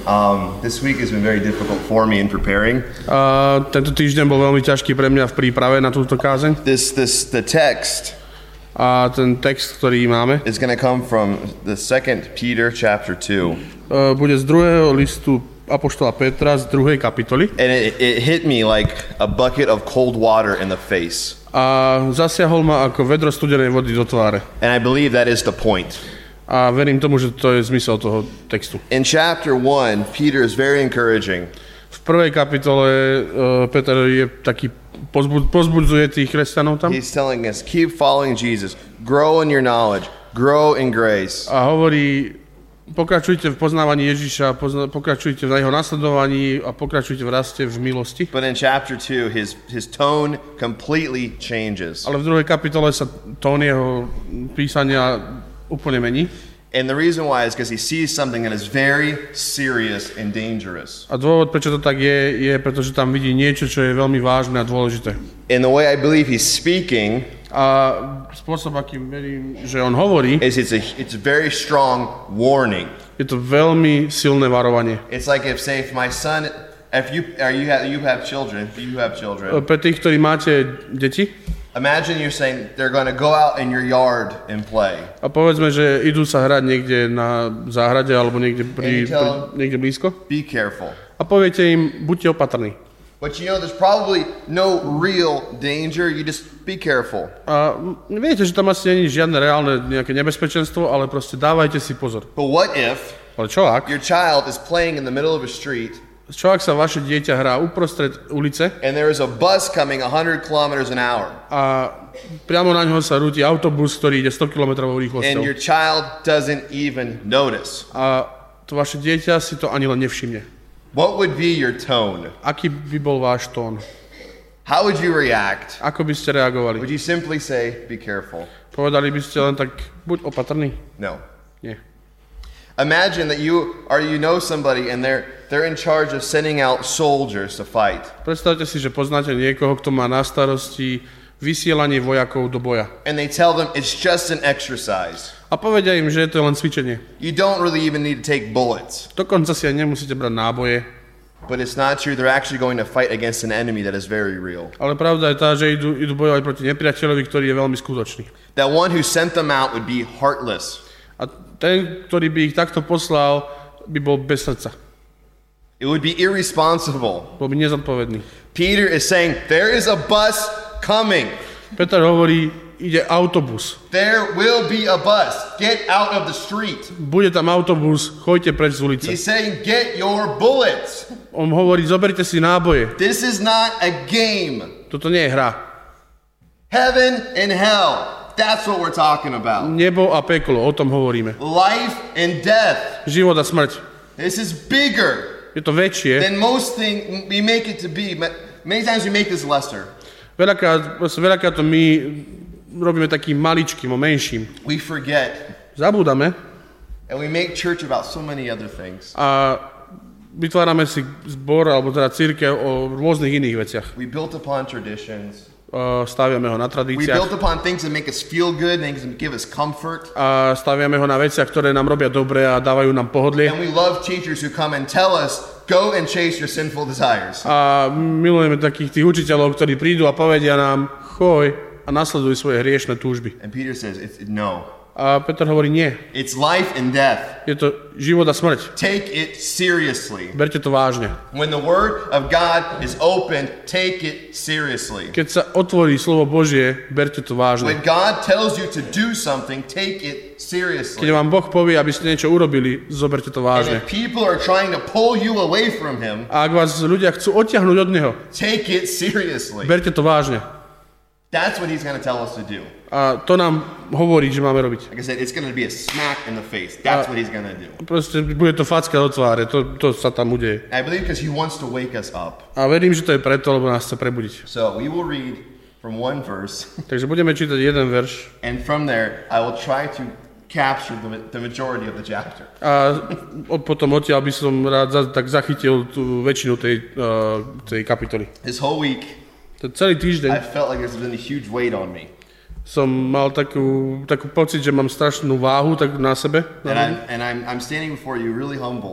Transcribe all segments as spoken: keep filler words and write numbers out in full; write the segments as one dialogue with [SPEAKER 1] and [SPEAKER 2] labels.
[SPEAKER 1] Um, this week has been very difficult for me in preparing.
[SPEAKER 2] Uh, tento týždeň bol veľmi ťažký pre mňa v príprave na túto kázeň.
[SPEAKER 1] This, this, the text
[SPEAKER 2] A ten text, ktorý máme,
[SPEAKER 1] is going to come from the Second Peter chapter two.
[SPEAKER 2] Uh, bude z druhého listu apoštola Petra z druhej kapitoly.
[SPEAKER 1] And it, it hit me like a bucket of cold water in the face.
[SPEAKER 2] A zasiahol ma ako vedro studenej vody do tváre.
[SPEAKER 1] And I believe that is the point.
[SPEAKER 2] A verím tomu, že to je zmysel toho textu.
[SPEAKER 1] In chapter one, Peter is very encouraging.
[SPEAKER 2] V prvej kapitole uh, Peter je taký pozbud, pozbudzuje tých kresťanov tam.
[SPEAKER 1] He's telling us, keep following Jesus, grow in your knowledge, grow in grace.
[SPEAKER 2] A hovorí, pokračujte v poznávaní Ježiša, pozna, pokračujte v jeho nasledovaní a pokračujte v raste v milosti.
[SPEAKER 1] But in chapter two, his, his tone completely changes.
[SPEAKER 2] Ale v druhej kapitole sa tón jeho písania úplne mení.
[SPEAKER 1] And the reason why is because he sees something that is very serious and dangerous.
[SPEAKER 2] A dôvod, prečo to tak je, je pretože tam vidí niečo, čo je veľmi vážne a dôležité.
[SPEAKER 1] And the way I believe he's speaking
[SPEAKER 2] a spôsob, akým verím, že on hovorí,
[SPEAKER 1] is it's a it's a very strong warning.
[SPEAKER 2] Je to veľmi silné varovanie.
[SPEAKER 1] It's like if say if my son if you are you have you have children, if you have children.
[SPEAKER 2] Pre tých, ktorí máte deti,
[SPEAKER 1] imagine you're saying they're going to go out in your yard and play.
[SPEAKER 2] A povedzme, že idú sa hrať niekde na záhrade alebo niekde, pri, pri, niekde blízko.
[SPEAKER 1] Be careful.
[SPEAKER 2] A poviete im, buďte opatrní.
[SPEAKER 1] But you know there's probably no real danger, you just be careful.
[SPEAKER 2] A viete, že tam asi nie je žiadne reálne nejaké nebezpečenstvo, ale proste dávajte si pozor.
[SPEAKER 1] But what if
[SPEAKER 2] ale čo ak?
[SPEAKER 1] Your child is playing in the middle of a street?
[SPEAKER 2] Čo ak sa vaše dieťa hrá uprostred ulice?
[SPEAKER 1] And there is a bus coming one hundred kilometers an hour.
[SPEAKER 2] A priamo na ňo sa rúti autobus, ktorý ide sto kilometrov rýchlosťou.
[SPEAKER 1] And your child doesn't even notice.
[SPEAKER 2] A to vaše dieťa si to ani len nevšimne.
[SPEAKER 1] What would be your tone?
[SPEAKER 2] Aký by bol váš tón?
[SPEAKER 1] How would you react?
[SPEAKER 2] Ako by ste reagovali?
[SPEAKER 1] Would you simply say, be careful?
[SPEAKER 2] Povedali by ste len tak, buď opatrný?
[SPEAKER 1] No.
[SPEAKER 2] Nie.
[SPEAKER 1] Imagine that you or you know somebody and they're they're in charge of sending out soldiers to fight.
[SPEAKER 2] Predstavte si, že poznáte niekoho, kto má na starosti vysielanie vojakov do boja.
[SPEAKER 1] And they tell them it's just an exercise.
[SPEAKER 2] A povedia im, že je to len cvičenie.
[SPEAKER 1] You don't really even need to take bullets.
[SPEAKER 2] Dokonca si aj nemusíte brať náboje.
[SPEAKER 1] But it's not true. They're actually going to fight against an enemy that is very real.
[SPEAKER 2] Ale pravda je tá, že idú, idú bojovať proti nepriateľovi, ktorý je veľmi skutočný.
[SPEAKER 1] That one who sent them out would be heartless.
[SPEAKER 2] A ten, ktorý by ich takto poslal, by bol bez srdca.
[SPEAKER 1] It would be irresponsible.
[SPEAKER 2] Bol by nezodpovedný.
[SPEAKER 1] Peter is saying, there is a bus coming.
[SPEAKER 2] Peter hovorí, ide autobus.
[SPEAKER 1] There will be a bus. Get out of the street.
[SPEAKER 2] Bude tam autobus, choďte preč z ulice.
[SPEAKER 1] He's saying, get your bullets.
[SPEAKER 2] On hovorí, zoberte si náboje.
[SPEAKER 1] This is not a game.
[SPEAKER 2] Toto nie je hra.
[SPEAKER 1] Heaven and hell. That's what we're talking about.
[SPEAKER 2] Nebo a peklo, o tom hovoríme.
[SPEAKER 1] Life and death.
[SPEAKER 2] Život a smrť.
[SPEAKER 1] This is bigger.
[SPEAKER 2] Je to väčšie.
[SPEAKER 1] Than most things we make it to be. Many times we make this lesser.
[SPEAKER 2] Veľakrát, veľakrát to my robíme takým maličkým, menším.
[SPEAKER 1] We forget.
[SPEAKER 2] Zabúdame.
[SPEAKER 1] And we make church about so many other things.
[SPEAKER 2] A vytvárame si zbor, alebo teda cirkev o rôznych iných veciach.
[SPEAKER 1] We built upon traditions.
[SPEAKER 2] Uh, staviame ho na
[SPEAKER 1] We
[SPEAKER 2] tradíciách.
[SPEAKER 1] built upon things that make us feel good, things that give us comfort.
[SPEAKER 2] A staviame ho na veciach, ktoré nám robia dobre a dávajú nám pohodlie.
[SPEAKER 1] And we love teachers who come and tell us, go and chase your sinful desires.
[SPEAKER 2] A milujeme takých tých učiteľov, ktorí prídu a povedia nám, choj a nasleduj svoje hriešne túžby.
[SPEAKER 1] And Peter says, it's, no.
[SPEAKER 2] A Peter hovorí, nie.
[SPEAKER 1] It's life and death.
[SPEAKER 2] Je to život a smrť.
[SPEAKER 1] Take it seriously.
[SPEAKER 2] Berte to vážne.
[SPEAKER 1] When the word of God is opened, take it seriously.
[SPEAKER 2] Keď sa otvorí slovo Božie, berte to vážne.
[SPEAKER 1] When God tells you to do something, take it seriously.
[SPEAKER 2] Keď vám Boh povie, aby ste niečo urobili, zoberte to
[SPEAKER 1] And
[SPEAKER 2] vážne.
[SPEAKER 1] if people are trying to pull you away from him,
[SPEAKER 2] A ak vás ľudia chcú odtiahnuť od Neho,
[SPEAKER 1] take it seriously.
[SPEAKER 2] berte to vážne.
[SPEAKER 1] That's what he's going to tell us to do.
[SPEAKER 2] A to nám hovorí, že máme robiť.
[SPEAKER 1] Like I said, it's going to be a smack in the face. That's what he's going to do.
[SPEAKER 2] Proste bude to facka do tváre, to, to sa tam udeje.
[SPEAKER 1] I believe because he wants to wake us up.
[SPEAKER 2] A verím, že to je preto, lebo nás chce prebudiť.
[SPEAKER 1] So we will read from one verse,
[SPEAKER 2] Takže budeme čítať jeden verš
[SPEAKER 1] and from there I will try to capture the, the majority of the chapter.
[SPEAKER 2] a potom odtiaľ by som rád za, tak zachytil tú väčšinu tej, uh, tej kapitoly.
[SPEAKER 1] This whole week,
[SPEAKER 2] Ten celý
[SPEAKER 1] I
[SPEAKER 2] týždeň
[SPEAKER 1] felt like there's been a huge weight on me.
[SPEAKER 2] som mal takú, takú pocit, že mám strašnú váhu tak na sebe.
[SPEAKER 1] And I'm, and I'm, I'm standing before you really humble.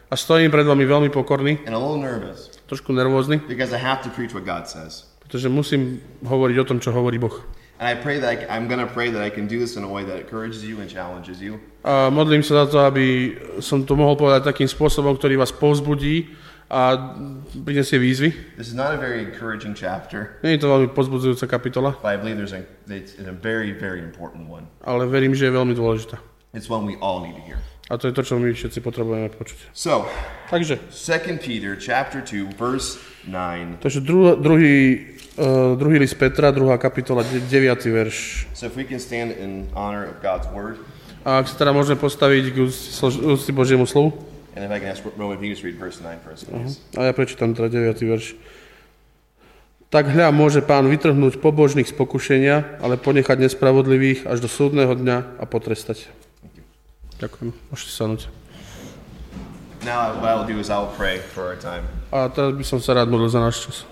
[SPEAKER 2] A stojím pred vami veľmi pokorný,
[SPEAKER 1] and a little nervous
[SPEAKER 2] trošku nervózny,
[SPEAKER 1] because I have to preach what God says.
[SPEAKER 2] pretože musím hovoriť o tom, čo hovorí Boh.
[SPEAKER 1] And I pray that I, I'm going to pray that I can do this in a way that encourages you and challenges you.
[SPEAKER 2] A modlím sa za to, aby som to mohol povedať takým spôsobom, ktorý vás povzbudí a prinesie výzvy.
[SPEAKER 1] This is not a very encouraging chapter,
[SPEAKER 2] Nie je to veľmi povzbudzujúca kapitola,
[SPEAKER 1] but I believe there's a, it's a very, very important one.
[SPEAKER 2] ale verím, že je veľmi dôležitá.
[SPEAKER 1] It's one we all need to hear.
[SPEAKER 2] A to je to, čo my všetci potrebujeme počuť.
[SPEAKER 1] So,
[SPEAKER 2] Takže,
[SPEAKER 1] Second Peter chapter two, verse nine.
[SPEAKER 2] takže dru, druhý, uh, druhý list Petra, druhá kapitola, deviaty verš.
[SPEAKER 1] So if we can stand in honor of God's word,
[SPEAKER 2] A ak sa teda môžeme postaviť k úcti slo- úcti Božiemu slovu,
[SPEAKER 1] and if I can ask Roman, if you just read verse nine for us, please.
[SPEAKER 2] a ja prečítam teda deviaty verš. Tak hľa, môže Pán vytrhnúť pobožných z pokušenia, ale ponechať nespravodlivých až do súdneho dňa a potrestať. Ďakujem. Môžete sadnúť.
[SPEAKER 1] Now what I'll do is I'll pray for our time.
[SPEAKER 2] A teraz by som sa rád modlil za náš čas.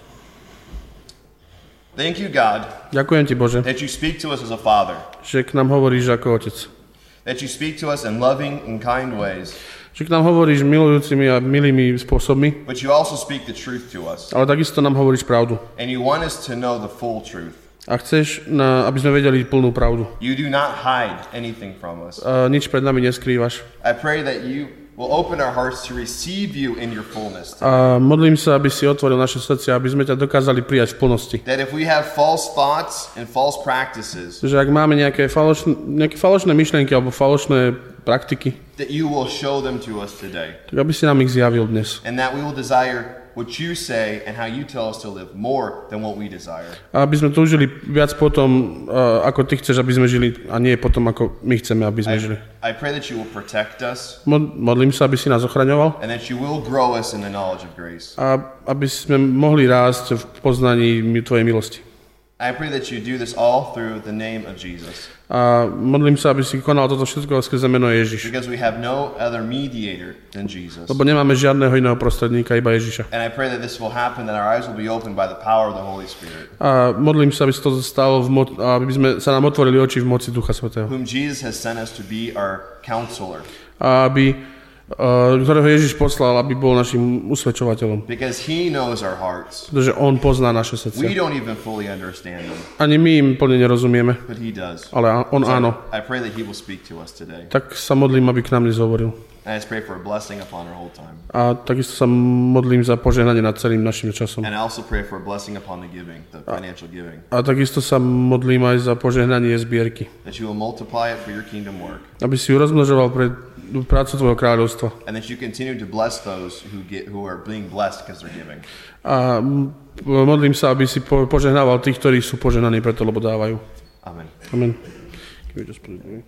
[SPEAKER 1] Thank you, God,
[SPEAKER 2] Ďakujem ti, Bože,
[SPEAKER 1] that you speak to us as a father,
[SPEAKER 2] že k nám hovoríš ako otec.
[SPEAKER 1] that you speak to us in loving and kind ways,
[SPEAKER 2] Že k nám hovoríš milujúcimi a milými spôsobmi,
[SPEAKER 1] but you also speak the truth to us,
[SPEAKER 2] ale takisto nám hovoríš pravdu.
[SPEAKER 1] and you want us to know the full truth.
[SPEAKER 2] A chceš, na, aby sme vedeli plnú pravdu.
[SPEAKER 1] You do not hide anything from us.
[SPEAKER 2] A nič pred nami neskrývaš.
[SPEAKER 1] I pray that you will open our hearts to receive you in your fullness.
[SPEAKER 2] A modlím sa, aby si otvoril naše srdcia, aby sme ťa dokázali prijať v plnosti.
[SPEAKER 1] That if we have false thoughts and false practices,
[SPEAKER 2] Že ak máme nejaké falošné, nejaké falošné myšlienky alebo falošné praktiky,
[SPEAKER 1] that you will show them to us today.
[SPEAKER 2] tak aby si nám ich zjavil dnes.
[SPEAKER 1] And that we will desire what you say and how you tell us to live more than what we desire.
[SPEAKER 2] A aby sme túžili viac potom, uh, ako ty chceš, aby sme žili, a nie potom, ako my chceme, aby sme žili.
[SPEAKER 1] I, I pray that you will protect us
[SPEAKER 2] Mod, modlím sa, aby si nás ochraňoval
[SPEAKER 1] and that you will grow us in the knowledge of grace.
[SPEAKER 2] a aby sme mohli rásť v poznaní tvojej milosti.
[SPEAKER 1] I pray that you do this all through the name of Jesus,
[SPEAKER 2] A modlím sa, aby si konal toto všetko skrze meno Ježiš.
[SPEAKER 1] because we have no other mediator than Jesus.
[SPEAKER 2] Lebo nemáme žiadneho iného prostredníka, iba Ježiša.
[SPEAKER 1] And I pray that this will happen, that our eyes will be opened by the power of the Holy Spirit,
[SPEAKER 2] A modlím sa, aby sa to stalo, v mo- aby sme sa nám otvorili oči v moci Ducha Svätého.
[SPEAKER 1] whom Jesus has sent us to be our counselor,
[SPEAKER 2] A aby, uh, ktorého Ježiš poslal, aby bol našim usvedčovateľom.
[SPEAKER 1] because he knows our hearts.
[SPEAKER 2] Pretože on pozná naše
[SPEAKER 1] We
[SPEAKER 2] srdcia.
[SPEAKER 1] don't even fully understand them,
[SPEAKER 2] Ani my im plne nerozumieme,
[SPEAKER 1] but he does.
[SPEAKER 2] ale á- on
[SPEAKER 1] So
[SPEAKER 2] áno.
[SPEAKER 1] I pray that he will speak to us today.
[SPEAKER 2] Tak sa modlím, aby k nám dnes hovoril.
[SPEAKER 1] And I just pray for a blessing upon our whole time.
[SPEAKER 2] A takisto sa modlím za požehnanie nad celým našim časom.
[SPEAKER 1] And I also pray for a blessing upon the giving, the financial giving,
[SPEAKER 2] A takisto sa modlím aj za požehnanie zbierky.
[SPEAKER 1] that you will multiply it for your kingdom work,
[SPEAKER 2] Aby si ju rozmnožoval pre prácu tvojho kráľovstva.
[SPEAKER 1] and that you continue to bless those who get who are being blessed because they're giving.
[SPEAKER 2] A m- modlím sa, aby si po- požehnával tých, ktorí sú požehnaní preto, lebo dávajú.
[SPEAKER 1] Amen.
[SPEAKER 2] Amen. Can we just put it away?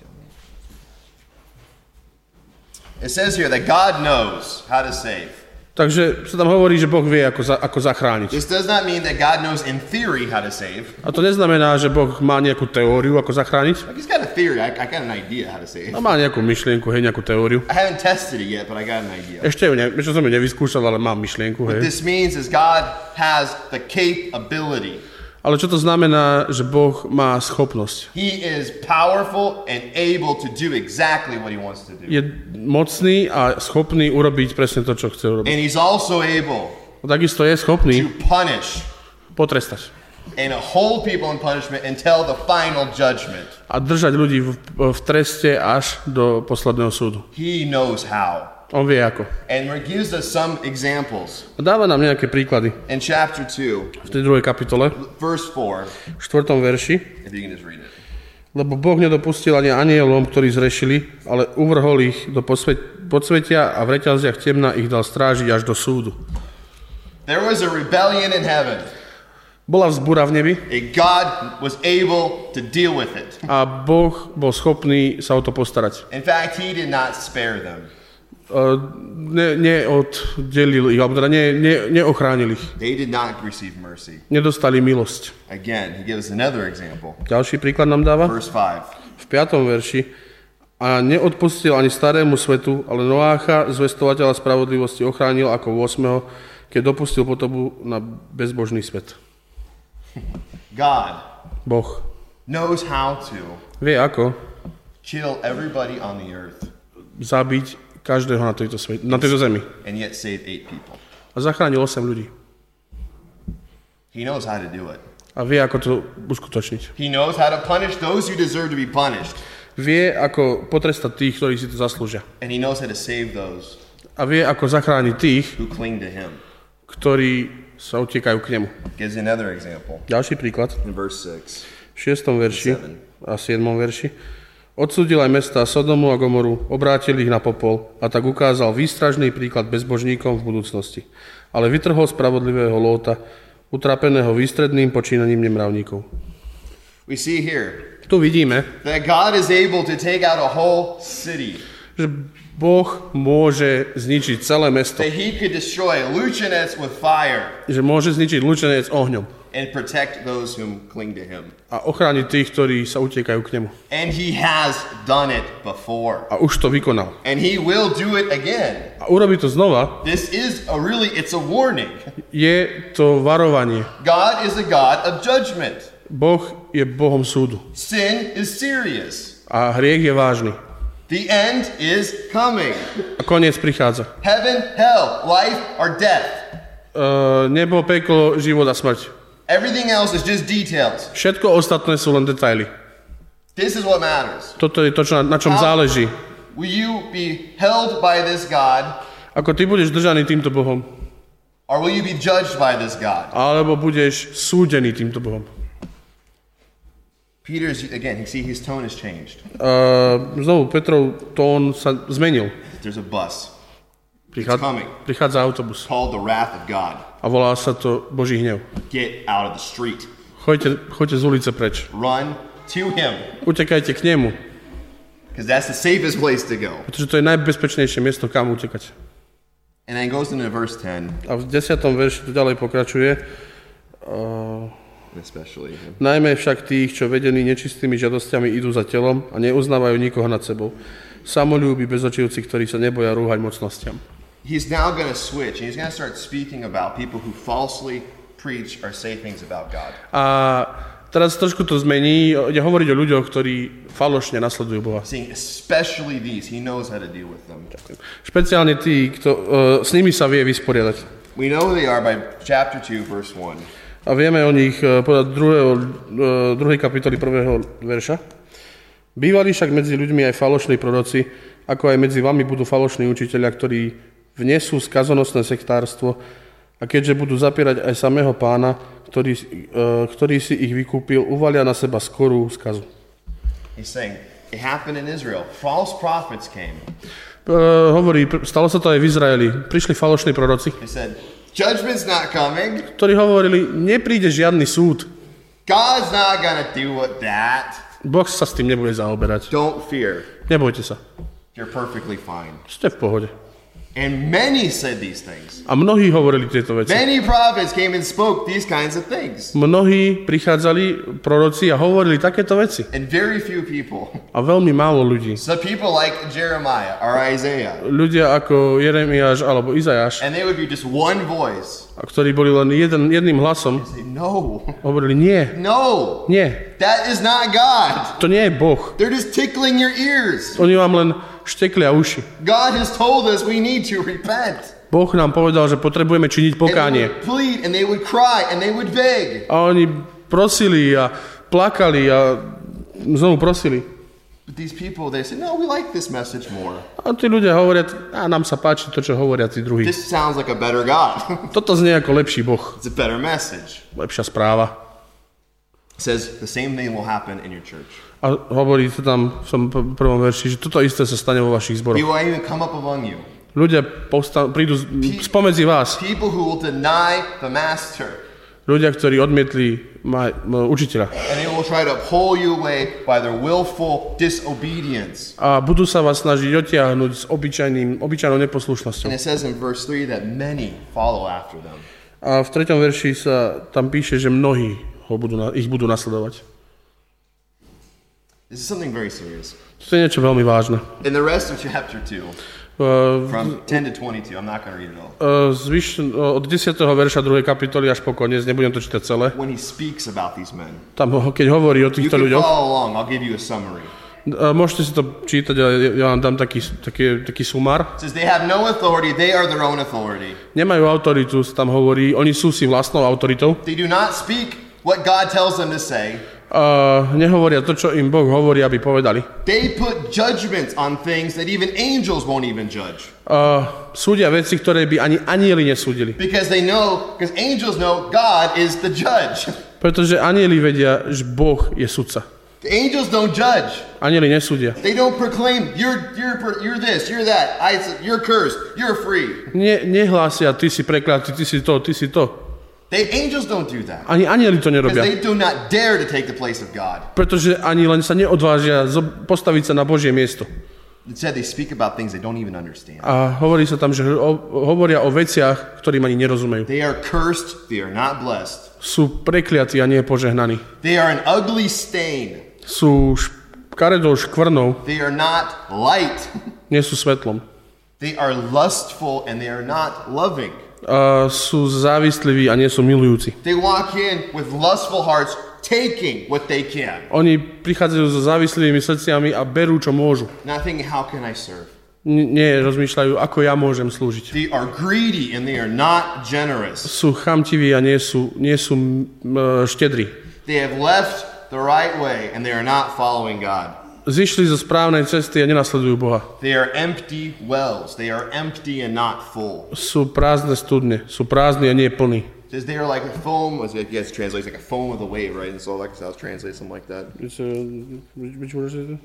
[SPEAKER 1] It says here that God knows how to save.
[SPEAKER 2] Takže sa tam hovorí, že Boh vie, ako, za, ako zachrániť.
[SPEAKER 1] This does not mean that God knows in theory how to save.
[SPEAKER 2] A to neznamená, že Boh má nejakú teóriu, ako zachrániť.
[SPEAKER 1] Like he's got a theory. I, I got an idea how to save.
[SPEAKER 2] A má nejakú myšlienku, hej, nejakú teóriu.
[SPEAKER 1] I haven't tested it yet, but I got an idea.
[SPEAKER 2] Ešte ju ne, ešte som ju nevyskúšal, ale mám myšlienku,
[SPEAKER 1] What
[SPEAKER 2] hej.
[SPEAKER 1] this means is God has the capability.
[SPEAKER 2] Ale čo to znamená, že Boh má schopnosť?
[SPEAKER 1] He is powerful and able to do exactly what he wants to do.
[SPEAKER 2] Je mocný a schopný urobiť presne to, čo chce urobiť.
[SPEAKER 1] And he's also able
[SPEAKER 2] A takisto je schopný
[SPEAKER 1] to punish
[SPEAKER 2] potrestať
[SPEAKER 1] and hold people in punishment until the final judgment.
[SPEAKER 2] a držať ľudí v, v treste až do posledného súdu.
[SPEAKER 1] He knows how.
[SPEAKER 2] On vie ako.
[SPEAKER 1] And he gives us some examples.
[SPEAKER 2] A dáva nám nejaké príklady.
[SPEAKER 1] In chapter two,
[SPEAKER 2] V tej druhej kapitole,
[SPEAKER 1] verse four,
[SPEAKER 2] v štvrtom verši.
[SPEAKER 1] if you can just read it.
[SPEAKER 2] Lebo Boh nedopustil ani anielom, ktorí zrešili, ale uvrhol ich do posvet- podsvetia a v reťaziach temna ich dal strážiť až do súdu.
[SPEAKER 1] There was a rebellion in heaven,
[SPEAKER 2] Bola vzbúra v nebi
[SPEAKER 1] and God was able to deal with it.
[SPEAKER 2] a Boh bol schopný sa o to postarať.
[SPEAKER 1] In fact, he did not spare them.
[SPEAKER 2] Uh, ne, neoddelil ich, alebo teda ne, ne, neochránil ich.
[SPEAKER 1] They did not receive mercy.
[SPEAKER 2] Nedostali milosť.
[SPEAKER 1] Again, he gives another example.
[SPEAKER 2] Ďalší príklad nám dáva
[SPEAKER 1] Verse five.
[SPEAKER 2] v piatom verši. A neodpustil ani starému svetu, ale Noácha, zvestovateľa spravodlivosti, ochránil ako v ôsmeho, keď dopustil potopu na bezbožný svet.
[SPEAKER 1] God
[SPEAKER 2] Boh
[SPEAKER 1] knows how to
[SPEAKER 2] vie ako
[SPEAKER 1] kill everybody on the earth
[SPEAKER 2] zabiť každého na tejto, svet, na tejto zemi.
[SPEAKER 1] And yet saved eight people.
[SPEAKER 2] A zachránil osem ľudí.
[SPEAKER 1] He knows how to do it.
[SPEAKER 2] A vie, ako to uskutočniť.
[SPEAKER 1] He knows how to punish those who deserve to be punished.
[SPEAKER 2] Vie, ako potrestať tých, ktorí si to zaslúžia.
[SPEAKER 1] And he knows how to save those
[SPEAKER 2] A vie, ako zachrániť tých,
[SPEAKER 1] who cling to him.
[SPEAKER 2] ktorí sa utiekajú k nemu.
[SPEAKER 1] Gives you another example
[SPEAKER 2] Ďalší príklad.
[SPEAKER 1] in verse six.
[SPEAKER 2] V šiestom verši a siedmom verši. Odsúdil aj mestá Sodomu a Gomoru, obrátil ich na popol a tak ukázal výstražný príklad bezbožníkom v budúcnosti. Ale vytrhol spravodlivého Lóta, utrapeného výstredným počínaním nemravníkov.
[SPEAKER 1] We see here
[SPEAKER 2] Tu vidíme,
[SPEAKER 1] that God is able to take out a whole city.
[SPEAKER 2] že Boh môže zničiť celé mesto.
[SPEAKER 1] That he could destroy Luchanets with fire
[SPEAKER 2] Že môže zničiť Lučenec ohňom
[SPEAKER 1] and protect those whom cling to him.
[SPEAKER 2] a ochrániť tých, ktorí sa utiekajú k nemu.
[SPEAKER 1] And he has done it before.
[SPEAKER 2] A už to vykonal.
[SPEAKER 1] And he will do it again.
[SPEAKER 2] A urobí to znova.
[SPEAKER 1] This is a really, it's a warning.
[SPEAKER 2] Je to varovanie.
[SPEAKER 1] God is a God of judgment.
[SPEAKER 2] Boh je Bohom súdu.
[SPEAKER 1] Sin is serious.
[SPEAKER 2] A hriech je vážny.
[SPEAKER 1] The end is coming.
[SPEAKER 2] A koniec prichádza.
[SPEAKER 1] Heaven, hell, life, or death.
[SPEAKER 2] Uh, nebo, peklo, život a smrť.
[SPEAKER 1] Everything else is just details.
[SPEAKER 2] Všetko ostatné sú len detaily.
[SPEAKER 1] This is what matters.
[SPEAKER 2] Toto je to, čo, na, na čom záleží.
[SPEAKER 1] Will you be held by this God,
[SPEAKER 2] Ako ty budeš držaný týmto Bohom,
[SPEAKER 1] or will you be judged by this God?
[SPEAKER 2] alebo budeš súdený týmto Bohom.
[SPEAKER 1] Peter's, again, you see his tone has changed.
[SPEAKER 2] Uh, znovu, Petrov tón sa zmenil.
[SPEAKER 1] There's a bus
[SPEAKER 2] Prichá,
[SPEAKER 1] coming.
[SPEAKER 2] prichádza autobus
[SPEAKER 1] called the wrath of God.
[SPEAKER 2] a volá sa to Boží hnev.
[SPEAKER 1] Get out of the street.
[SPEAKER 2] Choďte, choďte z ulice preč.
[SPEAKER 1] Run to him,
[SPEAKER 2] Utekajte k nemu,
[SPEAKER 1] because that's the safest place to go.
[SPEAKER 2] pretože to je najbezpečnejšie miesto, kam utekať.
[SPEAKER 1] And then goes into verse ten,
[SPEAKER 2] A v desiatom verši to ďalej pokračuje. Uh,
[SPEAKER 1] especially.
[SPEAKER 2] Najmä však tých, čo vedení nečistými žiadosťami idú za telom a neuznávajú nikoho nad sebou. Samolúbi bezočivci, ktorí sa neboja rúhať mocnostiam.
[SPEAKER 1] He's now going to switch, and he's going to start speaking about people who falsely preach or say things about God.
[SPEAKER 2] A teraz trošku to zmení, ide hovoriť o ľuďoch, ktorí falošne nasledujú Boha.
[SPEAKER 1] Saying especially these, he knows how to deal with them.
[SPEAKER 2] Špeciálne tí, kto, uh, s nimi sa vie vysporiadať.
[SPEAKER 1] We know who they are by chapter two, verse one.
[SPEAKER 2] A vieme o nich uh, podľa druhého, uh, druhej kapitoly prvého verša. Bývali však medzi ľuďmi aj falošní proroci, ako aj medzi vami budú falošní učitelia, ktorí vnesú skazonosné sektárstvo a keďže budú zapierať aj samého Pána, ktorý, uh, ktorý si ich vykúpil, uvalia na seba skorú skazu.
[SPEAKER 1] He's saying, it happened in Israel. False prophets came.
[SPEAKER 2] Uh, hovorí, stalo sa to aj v Izraeli. Prišli falošní proroci,
[SPEAKER 1] He said, judgment's not coming.
[SPEAKER 2] ktorí hovorili, nepríde žiadny súd.
[SPEAKER 1] God's not going to do what that.
[SPEAKER 2] Boh sa s tým nebude zaoberať.
[SPEAKER 1] Don't fear.
[SPEAKER 2] Nebojte sa.
[SPEAKER 1] You're perfectly fine.
[SPEAKER 2] Ste v pohode.
[SPEAKER 1] And many said these things.
[SPEAKER 2] A mnohí hovorili tieto veci.
[SPEAKER 1] Many prophets came and spoke these kinds of things.
[SPEAKER 2] Mnohí prichádzali proroci a hovorili takéto veci.
[SPEAKER 1] And very few people.
[SPEAKER 2] A veľmi málo ľudí.
[SPEAKER 1] So people like Jeremiah or Isaiah.
[SPEAKER 2] Ľudia ako Jeremiáš alebo Izajáš,
[SPEAKER 1] And they would be just one voice.
[SPEAKER 2] a ktorí boli len jeden, jedným hlasom,
[SPEAKER 1] Say, no,
[SPEAKER 2] hovorili, nie,
[SPEAKER 1] no,
[SPEAKER 2] nie,
[SPEAKER 1] that is not God.
[SPEAKER 2] to nie je Boh.
[SPEAKER 1] They're just tickling your ears.
[SPEAKER 2] Oni vám len šteklia uši.
[SPEAKER 1] God has told us we need to repent.
[SPEAKER 2] Boh nám povedal, že potrebujeme činiť
[SPEAKER 1] And they
[SPEAKER 2] pokánie.
[SPEAKER 1] would plead and they would cry and they would beg.
[SPEAKER 2] A oni prosili a plakali a znovu prosili.
[SPEAKER 1] But these people, they say, no, we like this message more.
[SPEAKER 2] A tí ľudia hovoria, a nám sa páči to, čo hovoria tí druhí.
[SPEAKER 1] This sounds like a better God.
[SPEAKER 2] Toto znie ako lepší Boh,
[SPEAKER 1] It's a better message.
[SPEAKER 2] lepšia správa.
[SPEAKER 1] It says the same thing will happen in your church.
[SPEAKER 2] A hovorí to tam v tom p- prvom verši, že toto isté sa stane vo vašich
[SPEAKER 1] He
[SPEAKER 2] zboroch.
[SPEAKER 1] will even come up among you.
[SPEAKER 2] Ľudia povsta- prídu z- spomedzi vás.
[SPEAKER 1] People who will deny the master.
[SPEAKER 2] Ľudia, ktorí odmietli ma- m- učiteľa.
[SPEAKER 1] And they will try to pull you away by their willful disobedience.
[SPEAKER 2] A budú sa vás snažiť otiahnuť s obyčajným, obyčajnou neposlušnosťou.
[SPEAKER 1] And it says in verse three that many follow after them.
[SPEAKER 2] A v treťom verši sa tam píše, že mnohí ho budú, na- ich budú nasledovať.
[SPEAKER 1] This is something very serious.
[SPEAKER 2] To je niečo veľmi vážne.
[SPEAKER 1] In the rest of chapter two,
[SPEAKER 2] Uh,
[SPEAKER 1] from ten to twenty-two, I'm not going to read it all.
[SPEAKER 2] uh, zvyš, uh, od desiateho verša druhej kapitoly až po koniec, nebudem to čítať celé.
[SPEAKER 1] When he speaks about these men,
[SPEAKER 2] Tam, ho- keď hovorí o
[SPEAKER 1] you
[SPEAKER 2] týchto
[SPEAKER 1] can
[SPEAKER 2] ľuďoch,
[SPEAKER 1] follow along. I'll give you a summary.
[SPEAKER 2] Môžete si to čítať, ale ja vám dám taký, taký, taký sumár.
[SPEAKER 1] It says they have no authority, they are their own authority.
[SPEAKER 2] Nemajú autoritu, tam hovorí, oni sú si vlastnou autoritou.
[SPEAKER 1] They do not speak what God tells them to say.
[SPEAKER 2] Uh, nehovoria to, čo im Boh hovorí, aby povedali.
[SPEAKER 1] They put judgments on things that even angels won't even judge.
[SPEAKER 2] Uh, súdia veci, ktoré by ani anjeli nesúdili.
[SPEAKER 1] Because they know, because angels know God is the judge.
[SPEAKER 2] Pretože anjeli vedia, že Boh je sudca.
[SPEAKER 1] The angels don't judge.
[SPEAKER 2] Anjeli nesúdia.
[SPEAKER 1] They don't proclaim, you're, you're, you're this, you're that, I, you're cursed, you're free.
[SPEAKER 2] Ne, nehlásia, ty si prekliatý, ty si to, ty si to.
[SPEAKER 1] They, angels don't do that.
[SPEAKER 2] Ani anjeli to
[SPEAKER 1] Because
[SPEAKER 2] nerobia.
[SPEAKER 1] they do not dare to take the place of God.
[SPEAKER 2] Pretože ani len sa neodvážia postaviť sa na Božie miesto.
[SPEAKER 1] It said they speak about things they don't even understand.
[SPEAKER 2] A hovorí sa tam, že o, hovoria o veciach, ktorým ani nerozumejú.
[SPEAKER 1] They are cursed, they are not blessed.
[SPEAKER 2] Sú prekliatí a nie požehnaní.
[SPEAKER 1] They are an ugly stain.
[SPEAKER 2] Sú škaredou škvrnou,
[SPEAKER 1] They are not light.
[SPEAKER 2] nie sú svetlom.
[SPEAKER 1] They are lustful and they are not loving.
[SPEAKER 2] A sú závisliví a nie sú milujúci.
[SPEAKER 1] They walk in with lustful hearts, taking what they can.
[SPEAKER 2] Oni prichádzajú so závislými srdciami a berú, čo môžu.
[SPEAKER 1] Not thinking, how can I serve?
[SPEAKER 2] N- nie rozmýšľajú, ako ja môžem slúžiť.
[SPEAKER 1] They are greedy and they are not generous.
[SPEAKER 2] Sú chamtiví a nie sú, nie sú uh, štedrí.
[SPEAKER 1] They have left the right way and they are not following God.
[SPEAKER 2] Zišli zo správnej cesty a nenasledujú Boha.
[SPEAKER 1] They are empty wells. They are empty and not full.
[SPEAKER 2] Sú prázdne studne, sú prázdni a nie plní.
[SPEAKER 1] It says they are like a foam, as you guys translate, like a foam of the wave, right? And so like I was translate something like that.
[SPEAKER 2] It's, uh, which, which verse is it?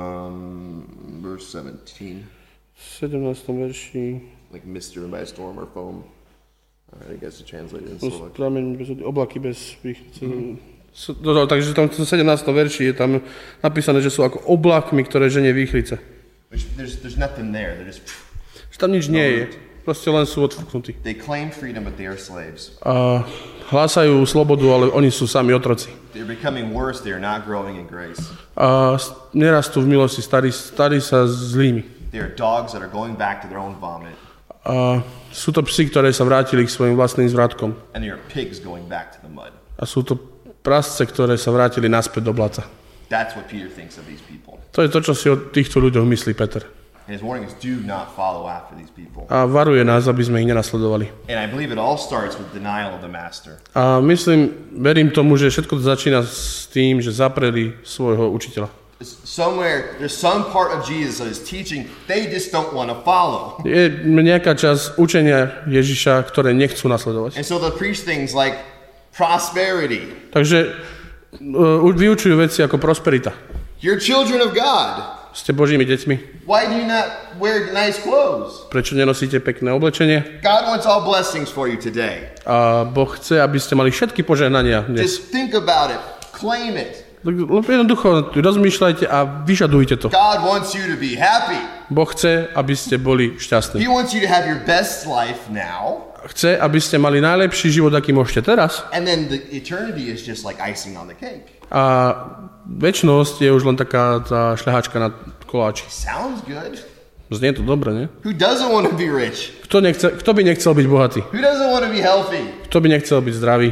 [SPEAKER 1] Um, verse seventeen.
[SPEAKER 2] sedemnástom verši.
[SPEAKER 1] Like mist driven by a storm or foam. All right, I guess to translate it in so like.
[SPEAKER 2] Prameň bez vody, oblaky bez svých. Mm-hmm. No, no, takže tam v sedemnástom verši je tam napísané, že sú ako oblakmi, ktoré ženie výchrice.
[SPEAKER 1] There's, there's nothing there. They're just.
[SPEAKER 2] Že tam nič nie je. Proste len sú odfúknutí.
[SPEAKER 1] They claim freedom, but they are slaves.
[SPEAKER 2] A hlásajú slobodu, ale oni sú sami otroci.
[SPEAKER 1] They're becoming worse. They are not growing in grace.
[SPEAKER 2] A nerastú v milosti, starí, starí sa zlými.
[SPEAKER 1] They are dogs that are going back to their own vomit.
[SPEAKER 2] A sú to psi, ktoré sa vrátili k svojim vlastným zvratkom.
[SPEAKER 1] And they are pigs going back to the mud.
[SPEAKER 2] A sú to prasce, ktoré sa vrátili naspäť do blata.
[SPEAKER 1] That's what Peter thinks of these people.
[SPEAKER 2] To je to, čo si o týchto ľuďoch myslí Peter.
[SPEAKER 1] And his warning is, do not follow after these people.
[SPEAKER 2] A varuje nás, aby sme ich nenasledovali.
[SPEAKER 1] And I believe it all starts with denial of the master.
[SPEAKER 2] A myslím, verím tomu, že všetko to začína s tým, že zapreli svojho učiteľa.
[SPEAKER 1] Somewhere, there's some part of Jesus that is teaching, they just don't want to follow.
[SPEAKER 2] Je nejaká časť učenia Ježiša, ktoré nechcú nasledovať.
[SPEAKER 1] And so they'll preach things like prosperity.
[SPEAKER 2] Takže uh, vyučujú veci ako prosperita.
[SPEAKER 1] You're children of God.
[SPEAKER 2] Ste Božími deťmi.
[SPEAKER 1] Why do you not wear nice clothes?
[SPEAKER 2] Prečo nenosíte pekné oblečenie?
[SPEAKER 1] God wants all blessings for you today.
[SPEAKER 2] A Boh chce, aby ste mali všetky požehnania dnes.
[SPEAKER 1] Just think about it. Claim it.
[SPEAKER 2] Jednoducho rozmýšľajte a vyžadujte to.
[SPEAKER 1] God wants you to be happy.
[SPEAKER 2] Boh chce, aby ste boli šťastní.
[SPEAKER 1] He wants you to have your best life now.
[SPEAKER 2] Chce, aby ste mali najlepší život, aký môžete teraz.
[SPEAKER 1] And then the eternity is just like icing on the cake.
[SPEAKER 2] A večnosť je už len taká tá šľahačka na koláči.
[SPEAKER 1] Sounds good.
[SPEAKER 2] Znie to dobre, nie?
[SPEAKER 1] Who doesn't want to be rich?
[SPEAKER 2] Kto, nechce, kto by nechcel byť bohatý?
[SPEAKER 1] Who doesn't want to be healthy?
[SPEAKER 2] Kto by nechcel byť zdravý?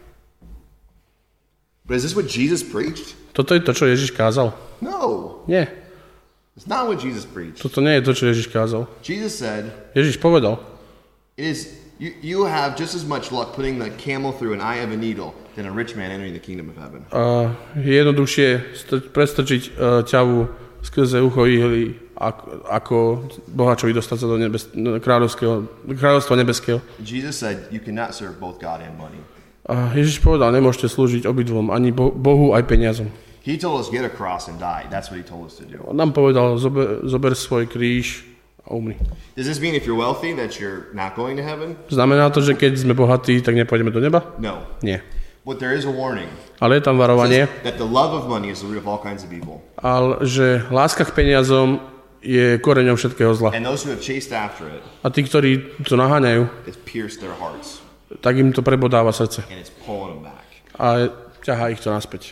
[SPEAKER 1] But is this what Jesus preached?
[SPEAKER 2] Toto je to, čo Ježiš kázal?
[SPEAKER 1] No.
[SPEAKER 2] Nie.
[SPEAKER 1] It's not what Jesus preached.
[SPEAKER 2] Toto nie je to, čo Ježiš kázal.
[SPEAKER 1] Jesus said,
[SPEAKER 2] Ježiš povedal,
[SPEAKER 1] it is you, you have just as much luck putting the camel through an eye of a needle than a rich man entering the kingdom of heaven.
[SPEAKER 2] uh, je jednoduchšie st- prestrčiť uh, ťavu skrze ucho ihly, ako, ako bohačovi dostať sa do nebes- kráľovského, kráľovstva nebeského.
[SPEAKER 1] Jesus said, you cannot serve both God and money.
[SPEAKER 2] A Ježiš povedal, nemôžete slúžiť obidvom, ani Bohu, aj peniazom.
[SPEAKER 1] He told us, get a cross and die. That's what he told us to do.
[SPEAKER 2] On nám povedal, zober, zober svoj kríž a umri.
[SPEAKER 1] Does this mean if you're wealthy that you're not going to heaven?
[SPEAKER 2] Znamená to, že keď sme bohatí, tak nepôjdeme do neba?
[SPEAKER 1] No.
[SPEAKER 2] Nie.
[SPEAKER 1] But there is a warning.
[SPEAKER 2] Ale je tam varovanie,
[SPEAKER 1] That the love of money is the root of all kinds of evil.
[SPEAKER 2] ale že láska k peniazom je koreňom všetkého zla.
[SPEAKER 1] And those who have chased after it,
[SPEAKER 2] A tí, ktorí to naháňajú,
[SPEAKER 1] it's pierced their hearts.
[SPEAKER 2] tak im to prebodáva srdce.
[SPEAKER 1] And it's pulling them back.
[SPEAKER 2] A ťahá ich to naspäť.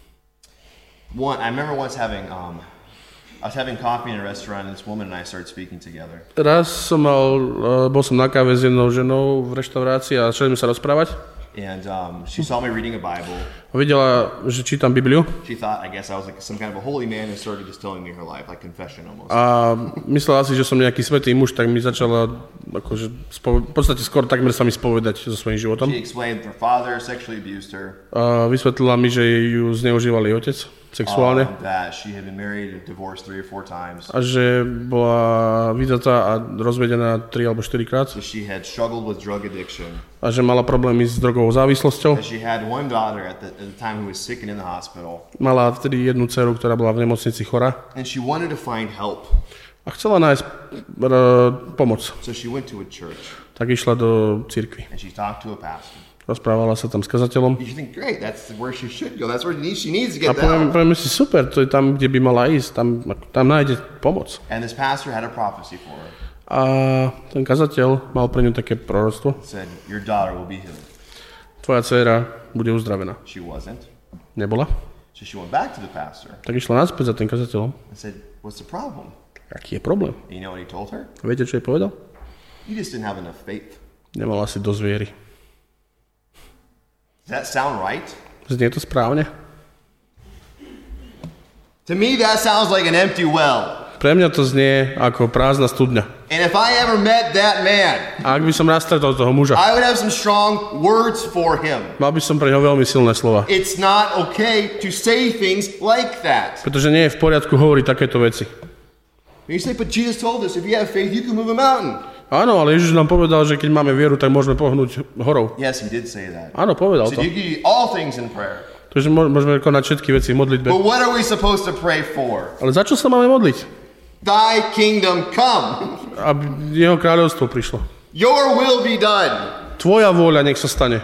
[SPEAKER 1] One, I remember once having, um, I was having coffee in a restaurant and this woman and I started speaking together.
[SPEAKER 2] Raz som mal, bol som na káve s jednou ženou v reštaurácii a začali sme sa rozprávať.
[SPEAKER 1] And um, she saw me reading a Bible.
[SPEAKER 2] Videla, že čítam Bibliu.
[SPEAKER 1] She thought, I guess I was like some kind of a holy man and started just telling me her life, like confession almost.
[SPEAKER 2] A myslela si, že som nejaký svätý muž, tak mi začala akože spo- v podstate skoro takmer sa mi spovedať so svojím životom.
[SPEAKER 1] She explained her father sexually abused her.
[SPEAKER 2] A vysvetlila mi, že ju zneužíval jej otec sexuálne.
[SPEAKER 1] Um, that she had been married and divorced three or four times.
[SPEAKER 2] A že bola vydatá a rozvedená tri alebo štyri krát.
[SPEAKER 1] So she had struggled with drug addiction.
[SPEAKER 2] A že mala problémy s drogovou závislosťou.
[SPEAKER 1] And she had one daughter at the, at the time who was sick and in the hospital.
[SPEAKER 2] Mala vtedy jednu dceru, ktorá bola v nemocnici chorá.
[SPEAKER 1] And she wanted to find help.
[SPEAKER 2] A chcela nájsť r- pomoc.
[SPEAKER 1] So she went to a church.
[SPEAKER 2] Tak išla do cirkvi.
[SPEAKER 1] And she talked to a pastor.
[SPEAKER 2] Rozprávala sa tam s kazateľom.
[SPEAKER 1] You think, great, that's where she should go. That's where she needs, she needs to
[SPEAKER 2] A
[SPEAKER 1] get
[SPEAKER 2] poviem,
[SPEAKER 1] down.
[SPEAKER 2] poviem si, super, to je tam, kde by mala ísť, tam, tam nájde pomoc.
[SPEAKER 1] And this pastor had a prophecy for her.
[SPEAKER 2] A ten kazateľ mal pre ňu také proroctvo.
[SPEAKER 1] Said, your daughter will be healed.
[SPEAKER 2] Tvoja dcéra bude uzdravená.
[SPEAKER 1] She wasn't.
[SPEAKER 2] Nebola.
[SPEAKER 1] So she went back to the pastor
[SPEAKER 2] Tak išla naspäť za tým kazateľom.
[SPEAKER 1] and said, what's the problem?
[SPEAKER 2] Aký je problém?
[SPEAKER 1] And you know what he told her?
[SPEAKER 2] Viete, čo jej povedal?
[SPEAKER 1] You just didn't have enough faith.
[SPEAKER 2] Nemala si dosť viery.
[SPEAKER 1] Does that sound right?
[SPEAKER 2] Znie to správne?
[SPEAKER 1] To me, that sounds like an empty well.
[SPEAKER 2] Pre mňa to znie ako prázdna studňa.
[SPEAKER 1] And if I ever met that man,
[SPEAKER 2] A ak by som raz stretol toho muža,
[SPEAKER 1] I would have some strong words for him.
[SPEAKER 2] mal by som pre ňo veľmi silné slova.
[SPEAKER 1] It's not okay to say things like that.
[SPEAKER 2] Pretože nie je v poriadku hovoriť takéto veci.
[SPEAKER 1] You say, but Jesus told us if you have faith, you can move a mountain.
[SPEAKER 2] Áno, ale Ježiš nám povedal, že keď máme vieru, tak môžeme pohnúť horou.
[SPEAKER 1] Yes, he did say that.
[SPEAKER 2] Áno, povedal
[SPEAKER 1] He said
[SPEAKER 2] to.
[SPEAKER 1] you can do all things in prayer.
[SPEAKER 2] Takže môžeme konať všetky veci v modlitbe.
[SPEAKER 1] But what are we supposed to pray for?
[SPEAKER 2] Ale za čo sa máme modliť?
[SPEAKER 1] Thy kingdom come.
[SPEAKER 2] Aby jeho kráľovstvo prišlo.
[SPEAKER 1] Your will be done.
[SPEAKER 2] Tvoja vôľa nech sa stane.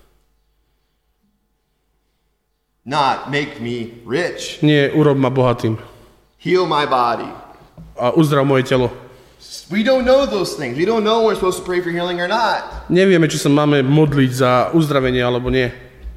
[SPEAKER 1] Not make me rich.
[SPEAKER 2] Nie, urob ma bohatým.
[SPEAKER 1] Heal my body.
[SPEAKER 2] A uzdrav moje telo.
[SPEAKER 1] We don't know those things. We don't know when we're supposed to pray for healing or not.
[SPEAKER 2] Nevieme, či sa máme modliť za uzdravenie alebo nie.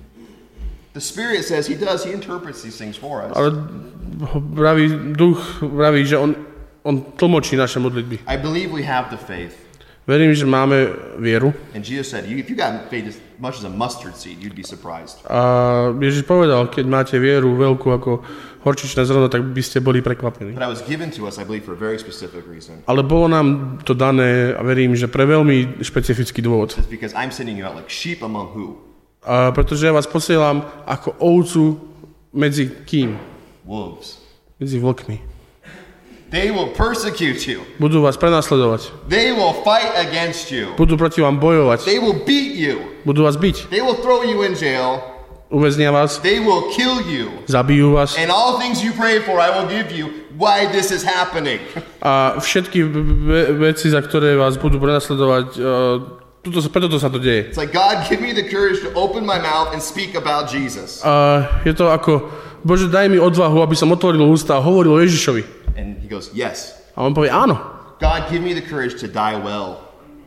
[SPEAKER 1] The Spirit says he does. He interprets these things for us.
[SPEAKER 2] Ale vraví, duch vraví, že on, on tlmočí naše modlitby.
[SPEAKER 1] I believe we have the faith.
[SPEAKER 2] Verím, že máme vieru.
[SPEAKER 1] And Jesus said, if you got faith as much as a mustard seed, you'd be surprised.
[SPEAKER 2] A Ježiš povedal, keď máte vieru veľkú ako horčičné zrno, tak by ste boli prekvapení.
[SPEAKER 1] But it was given to us, I believe, for a very specific reason.
[SPEAKER 2] Ale bolo nám to dané, a verím, že pre veľmi špecifický dôvod.
[SPEAKER 1] It's because I'm sending you out like sheep among who?
[SPEAKER 2] A pretože ja vás posielam ako ovcu medzi kým?
[SPEAKER 1] Wolves.
[SPEAKER 2] Medzi vlkmi.
[SPEAKER 1] They will persecute you.
[SPEAKER 2] Budú vás prenasledovať.
[SPEAKER 1] They will fight against you.
[SPEAKER 2] Budú proti vám bojovať.
[SPEAKER 1] They will beat you.
[SPEAKER 2] Budú vás biť.
[SPEAKER 1] They will throw you in jail.
[SPEAKER 2] Uväznia vás.
[SPEAKER 1] They will kill you.
[SPEAKER 2] Zabijú vás.
[SPEAKER 1] And all things you pray for, I will give you. Why this is happening?
[SPEAKER 2] A všetky ve- veci, za ktoré vás budú prenasledovať, uh, tuto, preto to sa to deje.
[SPEAKER 1] It's like, God, give me the courage to open my mouth and speak about Jesus.
[SPEAKER 2] A je to ako, Bože, daj mi odvahu, aby som otvoril ústa a hovoril o Ježišovi.
[SPEAKER 1] And he goes, yes.
[SPEAKER 2] A on povie, áno.
[SPEAKER 1] God, give me the courage to die well.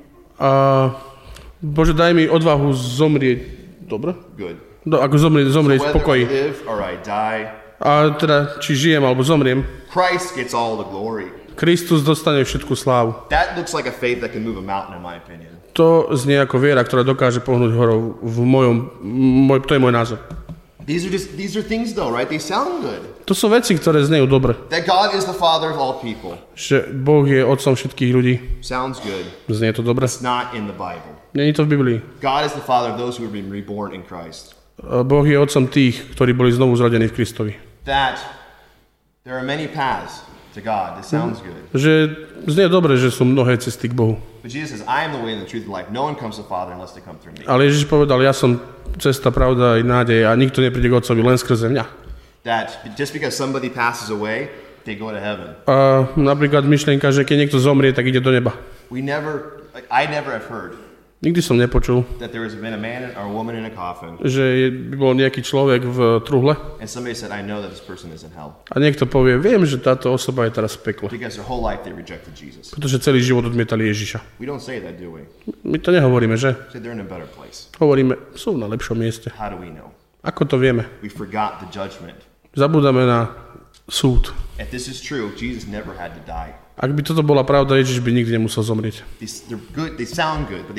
[SPEAKER 2] A Bože, daj mi odvahu zomrieť. Dobre?
[SPEAKER 1] Good.
[SPEAKER 2] Do, ako zomrieť, zomrieť v
[SPEAKER 1] Whether I
[SPEAKER 2] pokoji.
[SPEAKER 1] live or I die,
[SPEAKER 2] A teda, či žijem alebo zomriem,
[SPEAKER 1] Christ gets all the glory.
[SPEAKER 2] Kristus dostane všetku slávu.
[SPEAKER 1] That looks like a faith that can move a mountain, in my opinion.
[SPEAKER 2] To znie ako viera, ktorá dokáže pohnúť horou v mojom, môj, to je môj názor.
[SPEAKER 1] These are just these are things though, right? They sound good.
[SPEAKER 2] To sú veci, ktoré znejú dobre.
[SPEAKER 1] That God is the Father of all people.
[SPEAKER 2] Že Boh je otcom všetkých ľudí.
[SPEAKER 1] Sounds good.
[SPEAKER 2] Znie to dobre.
[SPEAKER 1] It's not in the Bible.
[SPEAKER 2] Není to v Biblii.
[SPEAKER 1] God is the Father of those who have been reborn in Christ.
[SPEAKER 2] Boh je otcom tých, ktorí boli znovu zrodení v Kristovi.
[SPEAKER 1] That there are many paths to God. This sounds good.
[SPEAKER 2] Že znie dobre, že sú mnohé cesty k Bohu.
[SPEAKER 1] But Jesus says, I am the way and the truth and the life. No one comes to the Father unless they come through me.
[SPEAKER 2] Ale Ježiš povedal, ja som cesta, pravda i nádej a nikto nepríde k Otcovi len skrze mňa.
[SPEAKER 1] That just because somebody passes away, they go to heaven.
[SPEAKER 2] A napríklad myšlienka, že keď niekto zomrie, tak ide do neba.
[SPEAKER 1] We never, like, I never have heard
[SPEAKER 2] Nikdy som nepočul,
[SPEAKER 1] that there has been a man or a woman in a coffin,
[SPEAKER 2] že by bol nejaký človek v truhle
[SPEAKER 1] and somebody said, I know that this person is in hell.
[SPEAKER 2] a niekto povie, viem, že táto osoba je teraz v pekle.
[SPEAKER 1] Because their whole life they rejected Jesus.
[SPEAKER 2] Pretože celý život odmietali Ježiša.
[SPEAKER 1] We don't say that, do we?
[SPEAKER 2] My to nehovoríme, že?
[SPEAKER 1] We say they're in a better place.
[SPEAKER 2] Hovoríme, sú na lepšom mieste.
[SPEAKER 1] How do we know?
[SPEAKER 2] Ako to vieme?
[SPEAKER 1] We forgot the judgment.
[SPEAKER 2] Zabúdame na súd.
[SPEAKER 1] If this is true, Jesus never had to die.
[SPEAKER 2] Ak by toto bola pravda, Ježiš by nikdy nemusel zomrieť.
[SPEAKER 1] These, they're good, they sound good, but they,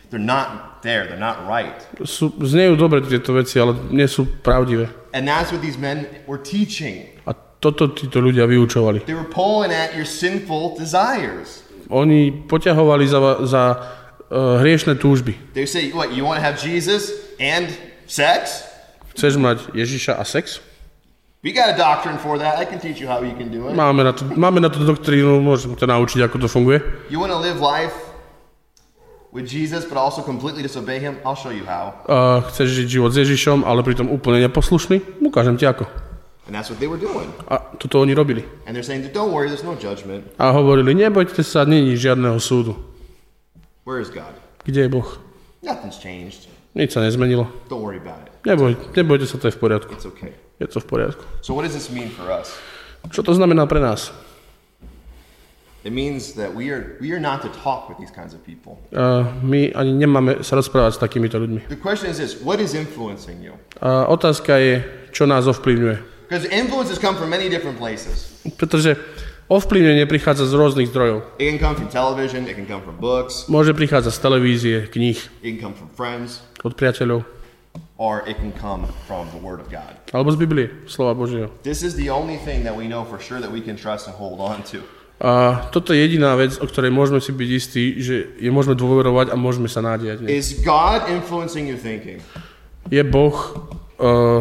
[SPEAKER 1] they're not there. They're not right.
[SPEAKER 2] Sú, znejú dobre tieto veci, ale nie sú pravdivé.
[SPEAKER 1] And that's what these men were teaching.
[SPEAKER 2] A toto títo ľudia vyučovali.
[SPEAKER 1] They were pulling at your sinful desires.
[SPEAKER 2] Oni poťahovali za, za uh, hriešne túžby.
[SPEAKER 1] They say, what, you want to have Jesus and sex?
[SPEAKER 2] Chceš mať Ježiša a sex?
[SPEAKER 1] We got a doctrine for that. I can teach you how you can do it.
[SPEAKER 2] Máme na to, máme na to doktrínu, môžem ťa naučiť, ako to funguje.
[SPEAKER 1] You want to live life with Jesus, but also completely disobey him? I'll show you how.
[SPEAKER 2] Uh, chceš žiť život s Ježišom, ale pritom úplne neposlušný? Ukážem ti ako.
[SPEAKER 1] And that's what they were doing.
[SPEAKER 2] A toto oni robili.
[SPEAKER 1] And they're saying, don't worry, there's no judgment.
[SPEAKER 2] A hovorili, nebojte sa, není žiadneho súdu.
[SPEAKER 1] Where is God?
[SPEAKER 2] Kde je Boh?
[SPEAKER 1] Nothing's changed.
[SPEAKER 2] Nič sa nezmenilo.
[SPEAKER 1] Don't worry about it.
[SPEAKER 2] Neboj, nebojte sa, to je v poriadku.
[SPEAKER 1] It's okay.
[SPEAKER 2] Je to v poriadku.
[SPEAKER 1] So what does this mean for us?
[SPEAKER 2] Čo to znamená pre nás?
[SPEAKER 1] It means that we are we are not to talk with these kinds of people.
[SPEAKER 2] Uh, my ani nemáme sa rozprávať s takýmito ľuďmi.
[SPEAKER 1] The question is this, what is influencing you?
[SPEAKER 2] Uh, otázka je, čo nás ovplyvňuje.
[SPEAKER 1] Because influences come from many different places.
[SPEAKER 2] Pretože ovplyvnenie prichádza z rôznych zdrojov.
[SPEAKER 1] It can come from television, it can come from books,
[SPEAKER 2] Môže prichádzať z televízie, kníh,
[SPEAKER 1] it can come from friends,
[SPEAKER 2] od priateľov,
[SPEAKER 1] or it can come from the Word of God.
[SPEAKER 2] alebo z Biblie, slova Božieho.
[SPEAKER 1] This is the only thing that we know for sure that we can trust and hold on to.
[SPEAKER 2] A toto je jediná vec, o ktorej môžeme si byť istí, že je môžeme dôverovať a môžeme sa nádejať. Ne?
[SPEAKER 1] Is God influencing your thinking?
[SPEAKER 2] Je Boh... Uh,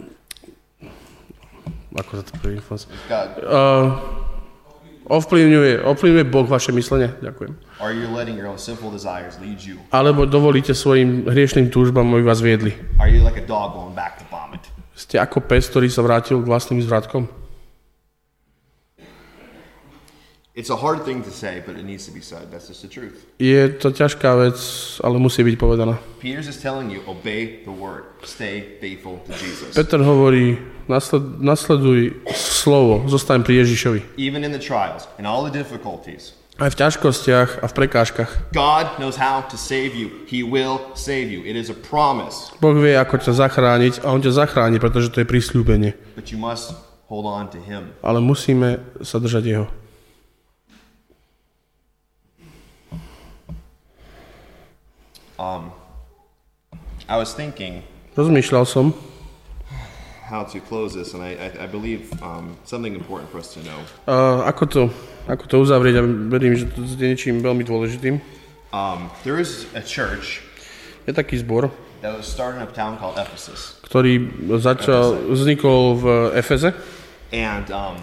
[SPEAKER 2] ako sa to prvý influence?
[SPEAKER 1] God.
[SPEAKER 2] Uh, ovplyvňuje, ovplyvňuje Boh vaše myslenie? Ďakujem.
[SPEAKER 1] Are you letting your own sinful desires lead you?
[SPEAKER 2] Alebo dovolíte svojim hriešným túžbám, aby vás viedli?
[SPEAKER 1] Are you like a dog going back to vomit?
[SPEAKER 2] Ste ako pes, ktorý sa vrátil k vlastným zvratkom?
[SPEAKER 1] It's a hard thing to say, but it needs to be said. That's just the truth.
[SPEAKER 2] Je to ťažká vec, ale musí byť povedaná.
[SPEAKER 1] Peter's just telling you, obey the word. Stay faithful to Jesus.
[SPEAKER 2] Peter hovorí, nasled, nasleduj slovo, zostaň pri Ježišovi.
[SPEAKER 1] Even in the trials and all the difficulties,
[SPEAKER 2] Aj v ťažkostiach a v prekážkach.
[SPEAKER 1] God knows how to save you. He will save you. It is a promise.
[SPEAKER 2] Boh vie, ako ťa zachrániť a on ťa zachráni, pretože to je prisľúbenie.
[SPEAKER 1] But you must hold on to him.
[SPEAKER 2] Ale musíme sa držať jeho.
[SPEAKER 1] Um, I was thinking
[SPEAKER 2] Rozmýšľal som,
[SPEAKER 1] how to close this, and I, I, I believe um, something important for us to know.
[SPEAKER 2] uh, ako, to, ako to uzavrieť, a verím, že to je niečím veľmi dôležitým.
[SPEAKER 1] Um, there is a church
[SPEAKER 2] Je taký zbor,
[SPEAKER 1] that was started in a town called Ephesus.
[SPEAKER 2] ktorý začal, vznikol v Efeze.
[SPEAKER 1] And um,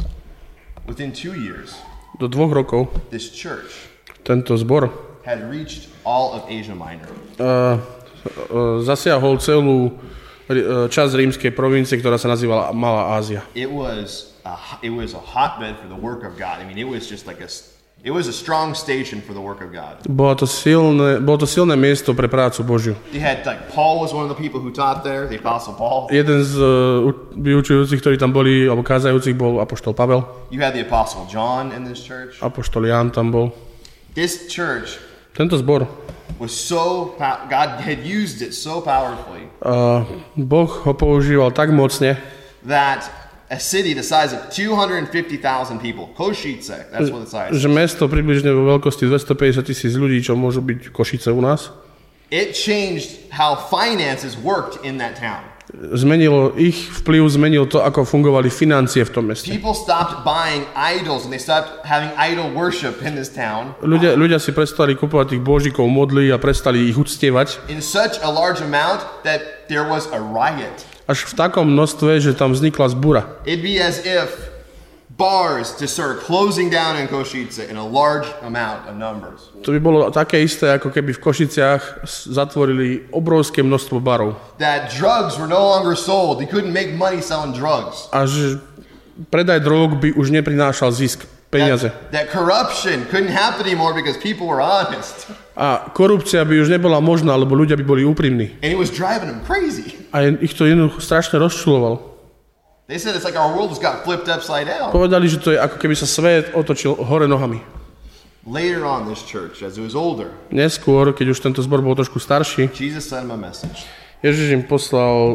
[SPEAKER 1] within two years,
[SPEAKER 2] Do dvoch rokov
[SPEAKER 1] this church
[SPEAKER 2] tento zbor
[SPEAKER 1] had reached all of Asia Minor.
[SPEAKER 2] uh, uh, zasiahol celú uh, časť rímskej provincie, ktorá sa nazývala Malá Ázia.
[SPEAKER 1] It was a, it was a hotbed for the work of God. I mean, it was just like a it was a strong station for the work of God.
[SPEAKER 2] Bolo to silné, bolo to silné miesto pre prácu Božiu.
[SPEAKER 1] They had like Paul was one of the people who taught there, the Apostle Paul.
[SPEAKER 2] Jeden z uh, vyučujúcich, ktorí tam boli, alebo kázajúcich, bol apoštol Pavel.
[SPEAKER 1] You had the Apostle John in this church.
[SPEAKER 2] Apoštol Ján tam bol.
[SPEAKER 1] This church
[SPEAKER 2] Tento zbor,
[SPEAKER 1] was so God had used it so powerfully
[SPEAKER 2] uh, Boh ho používal tak mocne,
[SPEAKER 1] that a city the size of two hundred fifty thousand people, Košice, that's what the size.
[SPEAKER 2] že mesto približne vo veľkosti dvestopäťdesiat tisíc ľudí, čo môžu byť Košice u nás,
[SPEAKER 1] It changed how finances worked in that town.
[SPEAKER 2] Zmenilo ich vplyv, zmenil to, ako fungovali financie v tom meste.
[SPEAKER 1] People stopped buying idols and they stopped having idol worship in this town.
[SPEAKER 2] Ľudia, ľudia si prestali kupovať tých božíkov, modly a prestali ich uctievať.
[SPEAKER 1] In such a large amount that there was a riot.
[SPEAKER 2] Až v takom množstve, že tam vznikla zbura.
[SPEAKER 1] It'd be as if bars just started closing down in Košice in a large amount of numbers.
[SPEAKER 2] To by bolo také isté, ako keby v Košiciach zatvorili obrovské množstvo barov.
[SPEAKER 1] That drugs were no longer sold. They couldn't make money selling drugs.
[SPEAKER 2] A že predaj drog by už neprinášal zisk, peniaze.
[SPEAKER 1] That, that corruption couldn't happen anymore because people were honest.
[SPEAKER 2] A korupcia by už nebola možná, lebo ľudia by boli úprimní.
[SPEAKER 1] And it was driving them crazy.
[SPEAKER 2] A ich to jednoducho strašne rozčulovalo.
[SPEAKER 1] They said it's like our world just got flipped upside down.
[SPEAKER 2] Povedali, že to je ako keby sa svet otočil hore nohami.
[SPEAKER 1] Later on, this church, as it was older,
[SPEAKER 2] Neskôr, keď už tento zbor bol trošku starší,
[SPEAKER 1] Jesus sent him a message.
[SPEAKER 2] Ježiš im poslal uh,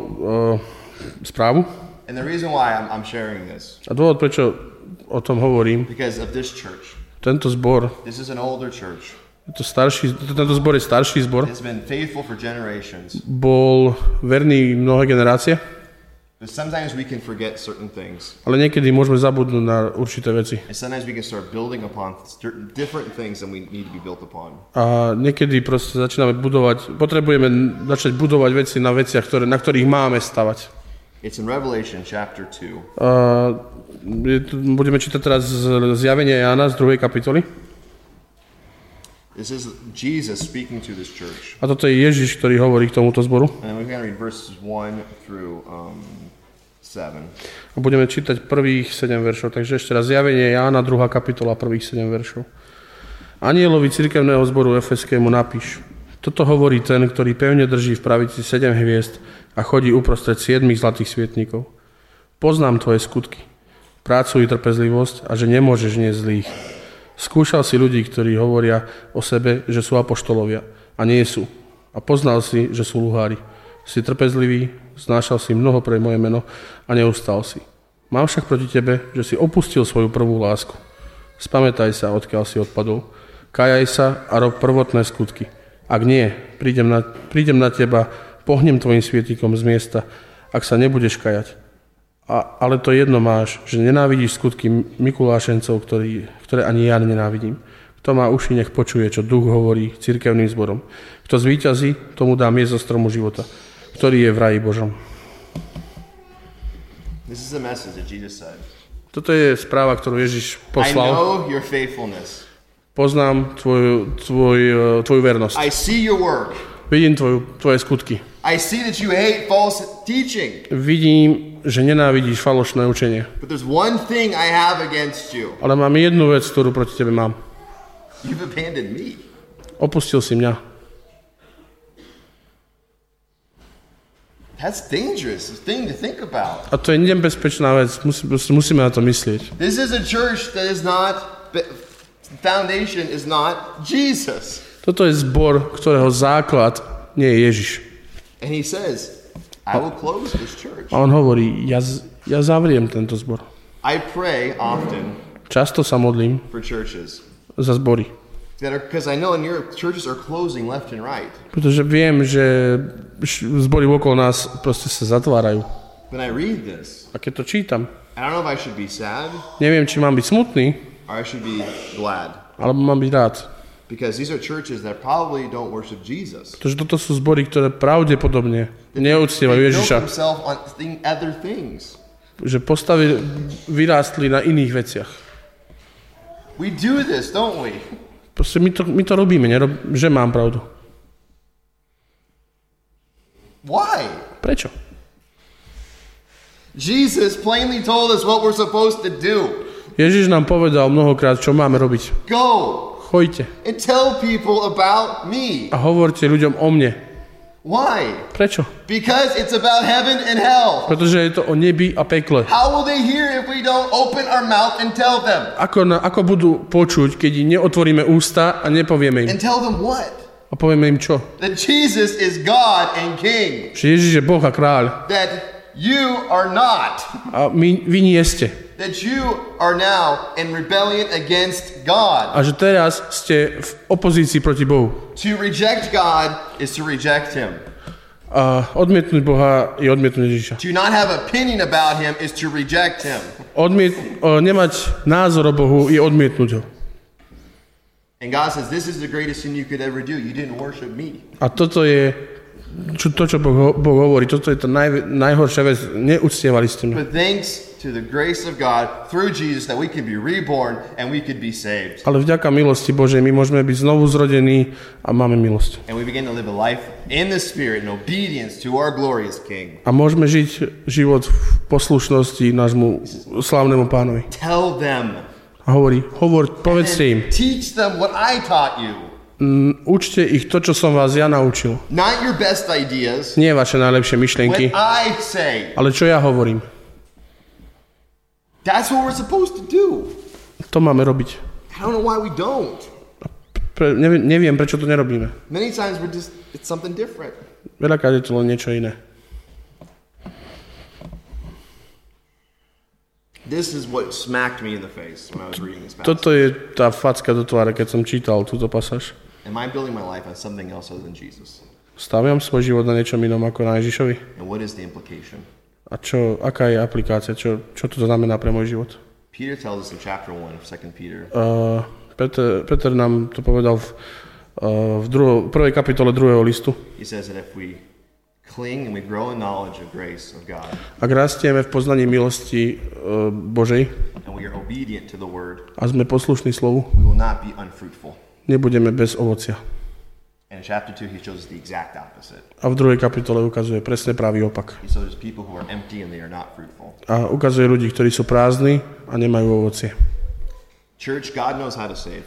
[SPEAKER 2] správu.
[SPEAKER 1] And the reason why I'm, I'm sharing this,
[SPEAKER 2] A dôvod, prečo o tom hovorím,
[SPEAKER 1] because of this church.
[SPEAKER 2] tento zbor
[SPEAKER 1] This is an older church.
[SPEAKER 2] To starší, tento zbor je starší zbor.
[SPEAKER 1] Has been faithful for generations.
[SPEAKER 2] Bol verný mnohé generácie.
[SPEAKER 1] But sometimes we can forget certain things.
[SPEAKER 2] Ale niekedy môžeme zabudnúť na určité veci.
[SPEAKER 1] And sometimes we can start building upon certain different things than we need to be built upon.
[SPEAKER 2] A niekedy proste začíname budovať, potrebujeme začať budovať veci na veciach, ktoré, na ktorých máme stavať.
[SPEAKER 1] It's in Revelation chapter two.
[SPEAKER 2] Uh, budeme čítať teraz zjavenie Jána z druhej kapitoly.
[SPEAKER 1] This is Jesus speaking to this church.
[SPEAKER 2] A toto je Ježiš, ktorý hovorí k tomuto zboru.
[SPEAKER 1] And we're going to read verses one through um, seven.
[SPEAKER 2] A budeme čítať prvých sedem veršov. Takže ešte raz zjavenie Jána, druhá kapitola, prvých sedem veršov. Anielovi cirkevného zboru Efeskému napíš. Toto hovorí ten, ktorý pevne drží v pravici sedem hviezd a chodí uprostred siedmých zlatých svietnikov. Poznám tvoje skutky, prácu i trpezlivosť a že nemôžeš niesť zlých. Skúšal si ľudí, ktorí hovoria o sebe, že sú apoštolovia a nie sú. A poznal si, že sú luhári. Si trpezlivý, znášal si mnoho pre moje meno a neustal si. Mám však proti tebe, že si opustil svoju prvú lásku. Spamätaj sa, odkiaľ si odpadol. Kajaj sa a rob prvotné skutky. Ak nie, prídem na, prídem na teba, pohnem tvojim svietikom z miesta, ak sa nebudeš kajať. A, ale to jedno máš, že nenávidíš skutky Mikulášencov, ktorý, ktoré ani ja nenávidím. Kto má uši, nech počuje, čo duch hovorí cirkevným zborom. Kto zvíťazí, tomu dám jesť zo stromu života, ktorý je v raji Božom.
[SPEAKER 1] This is the message that Jesus said.
[SPEAKER 2] Toto je správa, ktorú Ježiš poslal.
[SPEAKER 1] I know your faithfulness.
[SPEAKER 2] Poznám tvoju, tvoj, tvoju vernosť.
[SPEAKER 1] I see your work.
[SPEAKER 2] Vidím tvoju, tvoje skutky.
[SPEAKER 1] I see that you hate false teaching.
[SPEAKER 2] Vidím, že nenávidíš falošné učenie.
[SPEAKER 1] But there's one thing I have against you.
[SPEAKER 2] Ale mám jednu vec, ktorú proti tebe mám.
[SPEAKER 1] You've abandoned me.
[SPEAKER 2] Opustil si mňa.
[SPEAKER 1] That's dangerous. It's a thing to think about.
[SPEAKER 2] A to je nebezpečná vec. Musí, musíme na to myslieť.
[SPEAKER 1] This is a church that is not, foundation is not Jesus.
[SPEAKER 2] Toto je zbor, ktorého základ nie je Ježiš.
[SPEAKER 1] And he says, I will close this church.
[SPEAKER 2] A on hovorí, ja, ja zavriem tento zbor.
[SPEAKER 1] I pray often
[SPEAKER 2] Často sa modlím
[SPEAKER 1] for churches
[SPEAKER 2] za zbory.
[SPEAKER 1] that are, because I know in your churches are closing left and right.
[SPEAKER 2] Pretože viem, že zbory okolo nás proste sa zatvárajú.
[SPEAKER 1] When I read this,
[SPEAKER 2] A keď to čítam,
[SPEAKER 1] I don't know if I should be sad
[SPEAKER 2] neviem, či mám byť smutný,
[SPEAKER 1] or I should be glad.
[SPEAKER 2] alebo mám byť rád.
[SPEAKER 1] Because these are churches that probably don't worship Jesus.
[SPEAKER 2] Pretože toto sú zbory, ktoré pravdepodobne neúctievajú
[SPEAKER 1] They built
[SPEAKER 2] Ježiša.
[SPEAKER 1] themselves on thing, other things.
[SPEAKER 2] Že postavili, vyrástli na iných veciach.
[SPEAKER 1] We do this, don't we?
[SPEAKER 2] Proste my to, my to robíme, nerob, že mám pravdu.
[SPEAKER 1] Why?
[SPEAKER 2] Prečo?
[SPEAKER 1] Jesus plainly told us what we're supposed to do.
[SPEAKER 2] Ježiš nám povedal mnohokrát, čo máme robiť.
[SPEAKER 1] Go
[SPEAKER 2] Choďte
[SPEAKER 1] and tell people about me.
[SPEAKER 2] a hovorte ľuďom o mne.
[SPEAKER 1] Why?
[SPEAKER 2] Prečo?
[SPEAKER 1] Because it's about heaven and hell.
[SPEAKER 2] Pretože je to o nebi a pekle.
[SPEAKER 1] How will they hear if we don't open our mouth and tell them?
[SPEAKER 2] Ako, na, ako budú počuť, keď neotvoríme ústa a nepovieme im?
[SPEAKER 1] And tell them what?
[SPEAKER 2] A povieme im čo?
[SPEAKER 1] That Jesus is God and King.
[SPEAKER 2] Že Ježiš je Boh a kráľ.
[SPEAKER 1] That you are not.
[SPEAKER 2] A my, vy nie ste.
[SPEAKER 1] That you are now in rebellion against God.
[SPEAKER 2] A že teraz ste v opozícii proti Bohu.
[SPEAKER 1] To reject God is to reject Him.
[SPEAKER 2] A odmietnúť Boha je odmietnúť Ježiša.
[SPEAKER 1] To not have opinion about Him is to reject Him.
[SPEAKER 2] Odmiet, o, nemať názor o Bohu je odmietnúť ho.
[SPEAKER 1] And God says, this is the greatest thing you could ever do. You didn't worship me.
[SPEAKER 2] A toto je čo, to, čo boh, boh hovorí. Toto je to naj, najhoršia vec. Neúctievali ste mňa.
[SPEAKER 1] But thanks to the grace of God through Jesus that we can be reborn and we could be saved.
[SPEAKER 2] Ale vďaka milosti Božej my môžeme byť znovu zrodení a máme milosť.
[SPEAKER 1] And we begin to live a life in the Spirit in obedience to our glorious King.
[SPEAKER 2] A môžeme žiť život v poslušnosti nášmu slávnemu Pánovi.
[SPEAKER 1] Tell them.
[SPEAKER 2] A hovorí, hovor, povedzte im.
[SPEAKER 1] Teach them what I taught you.
[SPEAKER 2] Mm, učte ich to, čo som vás ja naučil.
[SPEAKER 1] Not your best ideas.
[SPEAKER 2] Nie vaše najlepšie myšlienky,
[SPEAKER 1] What I say.
[SPEAKER 2] ale čo ja hovorím.
[SPEAKER 1] That's what we're supposed to do.
[SPEAKER 2] To máme robiť.
[SPEAKER 1] I don't know why we don't.
[SPEAKER 2] Pre, neviem, neviem, prečo to nerobíme.
[SPEAKER 1] Many times we're just, it's something different.
[SPEAKER 2] Veľakrát je to len niečo iné.
[SPEAKER 1] This is what smacked me in the face when I was reading this passage.
[SPEAKER 2] Toto je tá facka do tváre, keď som čítal túto pasáž.
[SPEAKER 1] Am I building my life on something else other than Jesus?
[SPEAKER 2] Staviam svoj život na niečom inom ako na Ježišovi?
[SPEAKER 1] And what is the implication?
[SPEAKER 2] A čo, aká je aplikácia? Čo, čo to znamená pre môj život?
[SPEAKER 1] Peter tells us in chapter one of Second Peter.
[SPEAKER 2] Uh, Peter, Peter nám to povedal v, uh, v druho, prvej kapitole druhého listu.
[SPEAKER 1] He says that if we cling and we grow in knowledge of grace of God,
[SPEAKER 2] ak rastieme v poznaní milosti uh, Božej
[SPEAKER 1] and we are obedient to the word,
[SPEAKER 2] a sme poslušní slovu,
[SPEAKER 1] we will not be unfruitful.
[SPEAKER 2] nebudeme bez ovocia.
[SPEAKER 1] And in chapter two, he shows us the exact opposite.
[SPEAKER 2] A v druhej kapitole ukazuje presne pravý opak.
[SPEAKER 1] He shows us people who are empty and they are not fruitful.
[SPEAKER 2] A ukazuje ľudí, ktorí sú prázdni a nemajú ovocie.
[SPEAKER 1] Church, God knows how to save.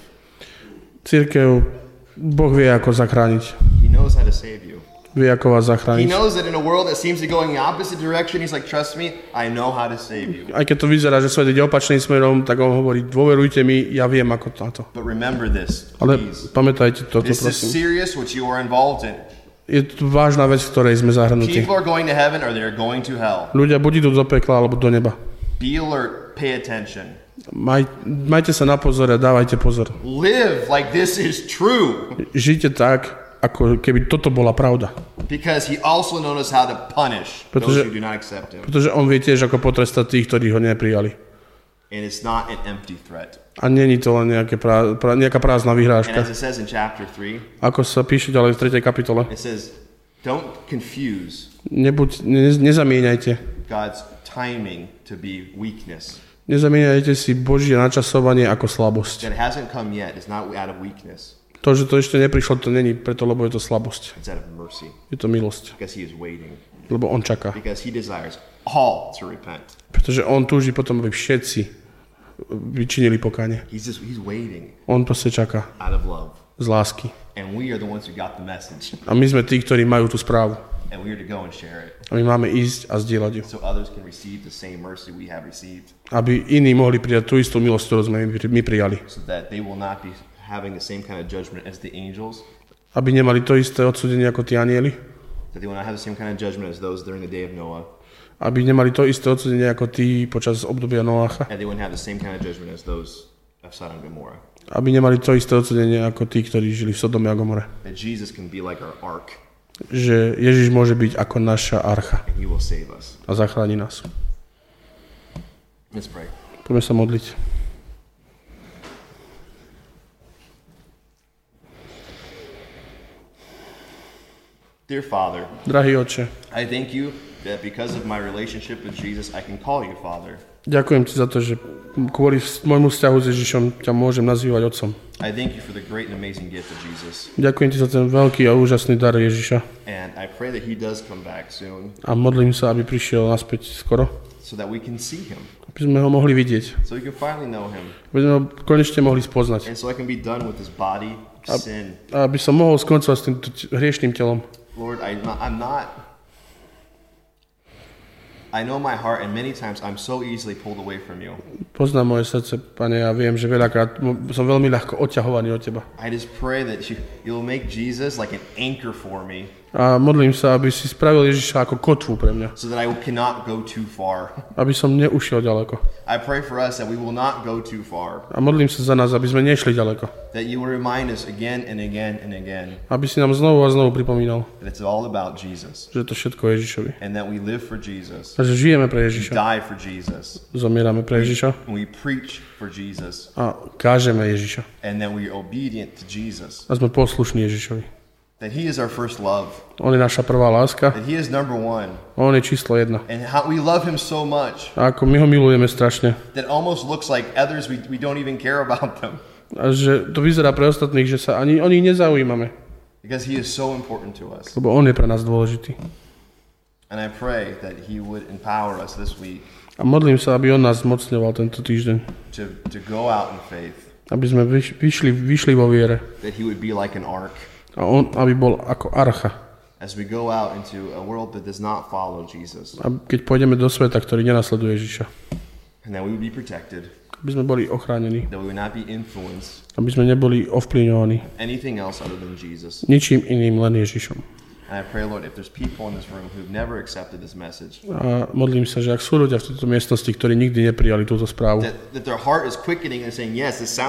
[SPEAKER 2] Cirkev, Boh vie, ako zachrániť.
[SPEAKER 1] He knows how to save you.
[SPEAKER 2] Vie, ako vás
[SPEAKER 1] He
[SPEAKER 2] zachrániť.
[SPEAKER 1] knows that in a world that seems to be going the opposite direction, he's like, trust me, I know how to save you.
[SPEAKER 2] Aj keď to vyzerá, že svet ide opačným smerom, tak on hovorí, dôverujte mi, ja viem, ako na to.
[SPEAKER 1] But remember this,
[SPEAKER 2] Ale
[SPEAKER 1] please.
[SPEAKER 2] pamätajte toto,
[SPEAKER 1] This is
[SPEAKER 2] prosím.
[SPEAKER 1] serious what you are involved in.
[SPEAKER 2] Je to vážna vec, v ktorej sme zahrnutí.
[SPEAKER 1] People are going to heaven or they're going to hell.
[SPEAKER 2] Ľudia buď idú do pekla, alebo do neba.
[SPEAKER 1] Be alert, pay attention.
[SPEAKER 2] Maj, majte sa na pozor a dávajte pozor.
[SPEAKER 1] Live like this is true.
[SPEAKER 2] Žite tak, ako keby toto bola pravda.
[SPEAKER 1] Because he also knows how to punish
[SPEAKER 2] Pretože-
[SPEAKER 1] those who do not accept him.
[SPEAKER 2] Pretože on vie tiež, ako potrestať tých, ktorí ho neprijali.
[SPEAKER 1] And it's not an empty threat.
[SPEAKER 2] A není to len nejaké prá, prá, nejaká prázdna
[SPEAKER 1] And
[SPEAKER 2] vyhrážka.
[SPEAKER 1] as it says in chapter three,
[SPEAKER 2] Ako sa píše ďalej v tretej kapitole.
[SPEAKER 1] it says, don't confuse
[SPEAKER 2] Nebuď, ne, nezamieňajte.
[SPEAKER 1] God's timing to be weakness.
[SPEAKER 2] Nezamieňajte si Božie načasovanie ako slabosť.
[SPEAKER 1] That hasn't come yet is not out of weakness.
[SPEAKER 2] To, že to ešte neprišlo, to není preto, lebo je to slabosť.
[SPEAKER 1] It's out of mercy.
[SPEAKER 2] Je to milosť.
[SPEAKER 1] Because he is waiting.
[SPEAKER 2] Lebo on čaká.
[SPEAKER 1] Because he desires all to repent.
[SPEAKER 2] Pretože on túži potom, aby všetci vyčinili pokánie.
[SPEAKER 1] He's just he's waiting
[SPEAKER 2] On proste čaká
[SPEAKER 1] out of love.
[SPEAKER 2] z lásky.
[SPEAKER 1] And we are the ones who got the message.
[SPEAKER 2] A my sme tí, ktorí majú tú správu.
[SPEAKER 1] And we are to go and share it.
[SPEAKER 2] A my máme ísť a zdieľať ju.
[SPEAKER 1] So others can receive the same mercy we have received.
[SPEAKER 2] Aby iní mohli prijať tú istú milosť, ktorú sme my my prijali.
[SPEAKER 1] So that they will not be having the same kind of judgment as the angels.
[SPEAKER 2] Aby nemali to isté odsúdenie ako tí anjeli.
[SPEAKER 1] That they will not have the same kind of judgment as those during the day of Noah.
[SPEAKER 2] Aby nemali to isté odsúdenie ako tí počas obdobia Noacha.
[SPEAKER 1] And they wouldn't have the same kind of judgment as those of Sodom and Gomorrah.
[SPEAKER 2] Aby nemali to isté odsúdenie ako tí, ktorí žili v Sodome a Gomore.
[SPEAKER 1] That Jesus can be like our ark
[SPEAKER 2] Že Ježiš môže byť ako naša archa
[SPEAKER 1] and he will save us.
[SPEAKER 2] a zachráni nás.
[SPEAKER 1] Let's pray.
[SPEAKER 2] Poďme sa modliť.
[SPEAKER 1] Dear Father,
[SPEAKER 2] Drahý Otče,
[SPEAKER 1] I thank you that because of my relationship with Jesus, I can call you Father.
[SPEAKER 2] ďakujem Ti za to, že kvôli môjmu vzťahu s Ježišom ťa môžem nazývať Otcom.
[SPEAKER 1] I thank you for the great and amazing gift of Jesus.
[SPEAKER 2] Ďakujem Ti za ten veľký a úžasný dar Ježiša
[SPEAKER 1] And I pray that he does come back soon
[SPEAKER 2] a modlím sa, aby prišiel naspäť skoro,
[SPEAKER 1] so that we can see him,
[SPEAKER 2] aby sme ho mohli vidieť,
[SPEAKER 1] so we can finally know him,
[SPEAKER 2] aby sme ho konečne mohli spoznať
[SPEAKER 1] and so I can be done with this body of sin.
[SPEAKER 2] a aby som mohol skoncovať s týmto t- hriešným telom.
[SPEAKER 1] Lord, I, I'm not, I know my heart, and many times I'm so easily pulled away from you.
[SPEAKER 2] Poznám moje srdce, Pane, a viem, že veľakrát m- som veľmi ľahko odťahovaný od Teba.
[SPEAKER 1] I just pray that you, you'll make Jesus like an anchor for me,
[SPEAKER 2] A modlím sa, aby si spravil Ježiša ako kotvu pre mňa,
[SPEAKER 1] so that I cannot go too far.
[SPEAKER 2] aby som neušiel ďaleko.
[SPEAKER 1] I pray for us that we will not go too far,
[SPEAKER 2] A modlím sa za nás, aby sme nešli ďaleko.
[SPEAKER 1] that you will remind us again and again and again
[SPEAKER 2] Aby si nám znovu a znovu pripomínal,
[SPEAKER 1] that it's all about Jesus,
[SPEAKER 2] že to všetko je Ježišovi.
[SPEAKER 1] and that we live for Jesus,
[SPEAKER 2] A že žijeme pre
[SPEAKER 1] we
[SPEAKER 2] Ježiša,
[SPEAKER 1] die for Jesus,
[SPEAKER 2] zomierame pre Ježiša
[SPEAKER 1] and we preach for Jesus,
[SPEAKER 2] a kážeme Ježiša.
[SPEAKER 1] and that we are obedient to Jesus,
[SPEAKER 2] A sme poslušní Ježišovi.
[SPEAKER 1] that he is our first love,
[SPEAKER 2] On je naša prvá láska,
[SPEAKER 1] that he is number one,
[SPEAKER 2] on je číslo jedna.
[SPEAKER 1] and how we love him so much
[SPEAKER 2] A ako my ho milujeme strašne.
[SPEAKER 1] that it almost looks like others, we, we don't even care about them,
[SPEAKER 2] A že to vyzerá pre ostatných, že sa ani o nich nezaujímame,
[SPEAKER 1] because he is so important to us.
[SPEAKER 2] lebo on je pre nás dôležitý.
[SPEAKER 1] And I pray that he would empower us this week
[SPEAKER 2] A modlím sa, aby on nás zmocňoval tento týždeň.
[SPEAKER 1] to, to go out in faith,
[SPEAKER 2] Aby sme vyš, vyšli, vyšli vo viere.
[SPEAKER 1] that he would be like an ark
[SPEAKER 2] A on, aby bol ako archa.
[SPEAKER 1] as we go out into a world that does not follow Jesus,
[SPEAKER 2] A keď pôjdeme do sveta, ktorý nenasleduje Ježiša.
[SPEAKER 1] and that we would be protected,
[SPEAKER 2] Aby sme boli ochránení.
[SPEAKER 1] that we would not be influenced
[SPEAKER 2] Aby sme neboli ovplyvňovaní
[SPEAKER 1] anything else other than Jesus.
[SPEAKER 2] ničím iným, len Ježišom.
[SPEAKER 1] And I pray, Lord, if there's people in this room who've never accepted this message,
[SPEAKER 2] A modlím sa, že ak sú ľudia v tejto miestnosti, ktorí nikdy neprijali túto správu,
[SPEAKER 1] that, that their heart is quickening and saying, yes, this sounds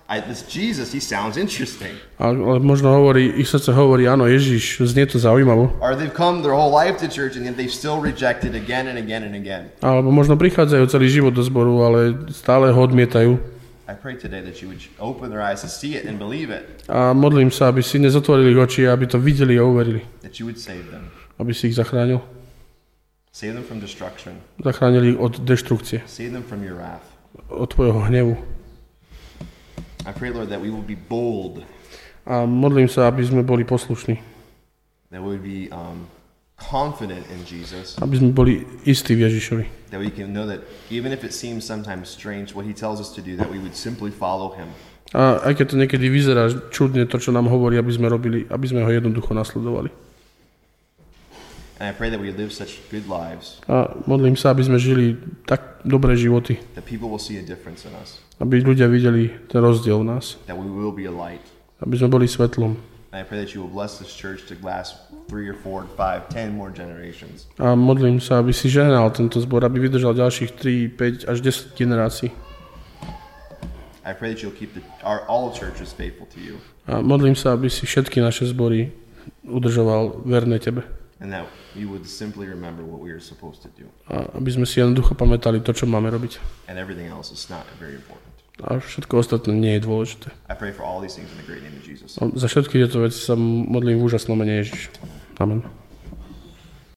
[SPEAKER 1] I, this Jesus, he sounds interesting.
[SPEAKER 2] Ale možno hovorí, ich srdce hovorí, áno, Ježiš, znie to zaujímavo.
[SPEAKER 1] Or they've come their whole life to church and yet they've still rejected again and again and again.
[SPEAKER 2] Alebo možno prichádzajú celý život do zboru, ale stále ho odmietajú.
[SPEAKER 1] I pray today that you would open their eyes to see it and believe it.
[SPEAKER 2] A modlím sa, aby si nezotvorili ich oči, aby to videli a uverili.
[SPEAKER 1] That you would save them.
[SPEAKER 2] Aby si ich zachránil.
[SPEAKER 1] Save them from destruction.
[SPEAKER 2] Zachránili ich od deštrukcie.
[SPEAKER 1] Save them from your wrath.
[SPEAKER 2] Od tvojho hnevu.
[SPEAKER 1] I pray, Lord, that we will be bold.
[SPEAKER 2] A modlím sa, aby sme boli poslušní.
[SPEAKER 1] That we would be um, confident in Jesus.
[SPEAKER 2] Aby sme boli istí v Ježišovi.
[SPEAKER 1] That we can know that even if it seems sometimes strange what he tells us to do, that we would simply follow him.
[SPEAKER 2] A aj keď to niekedy vyzerá čudne, to, čo nám hovorí, aby sme robili, aby sme ho jednoducho nasledovali.
[SPEAKER 1] And I pray that we live such good lives.
[SPEAKER 2] A modlím sa, aby sme žili tak dobré životy.
[SPEAKER 1] That people will see a difference in us.
[SPEAKER 2] Aby ľudia videli ten rozdiel v nás.
[SPEAKER 1] That we will be a light.
[SPEAKER 2] Aby sme boli svetlom.
[SPEAKER 1] And I pray that you will bless this church to last three or four, five, ten more generations.
[SPEAKER 2] A modlím sa, aby si žehnal tento zbor, aby vydržal ďalších tri, päť až desať generácií.
[SPEAKER 1] I pray that you'll keep the, our, all churches faithful to you.
[SPEAKER 2] A modlím sa, aby si všetky naše zbory udržoval verné tebe.
[SPEAKER 1] And that you would simply remember what we are supposed to do.
[SPEAKER 2] A aby sme si jednoducho pamätali to, čo máme robiť.
[SPEAKER 1] And everything else is not very important.
[SPEAKER 2] A všetko ostatné nie je dôležité.
[SPEAKER 1] I pray for all these things in the great name of Jesus.
[SPEAKER 2] A za všetky tieto veci sa modlím v úžasnom mene Ježiš. Amen.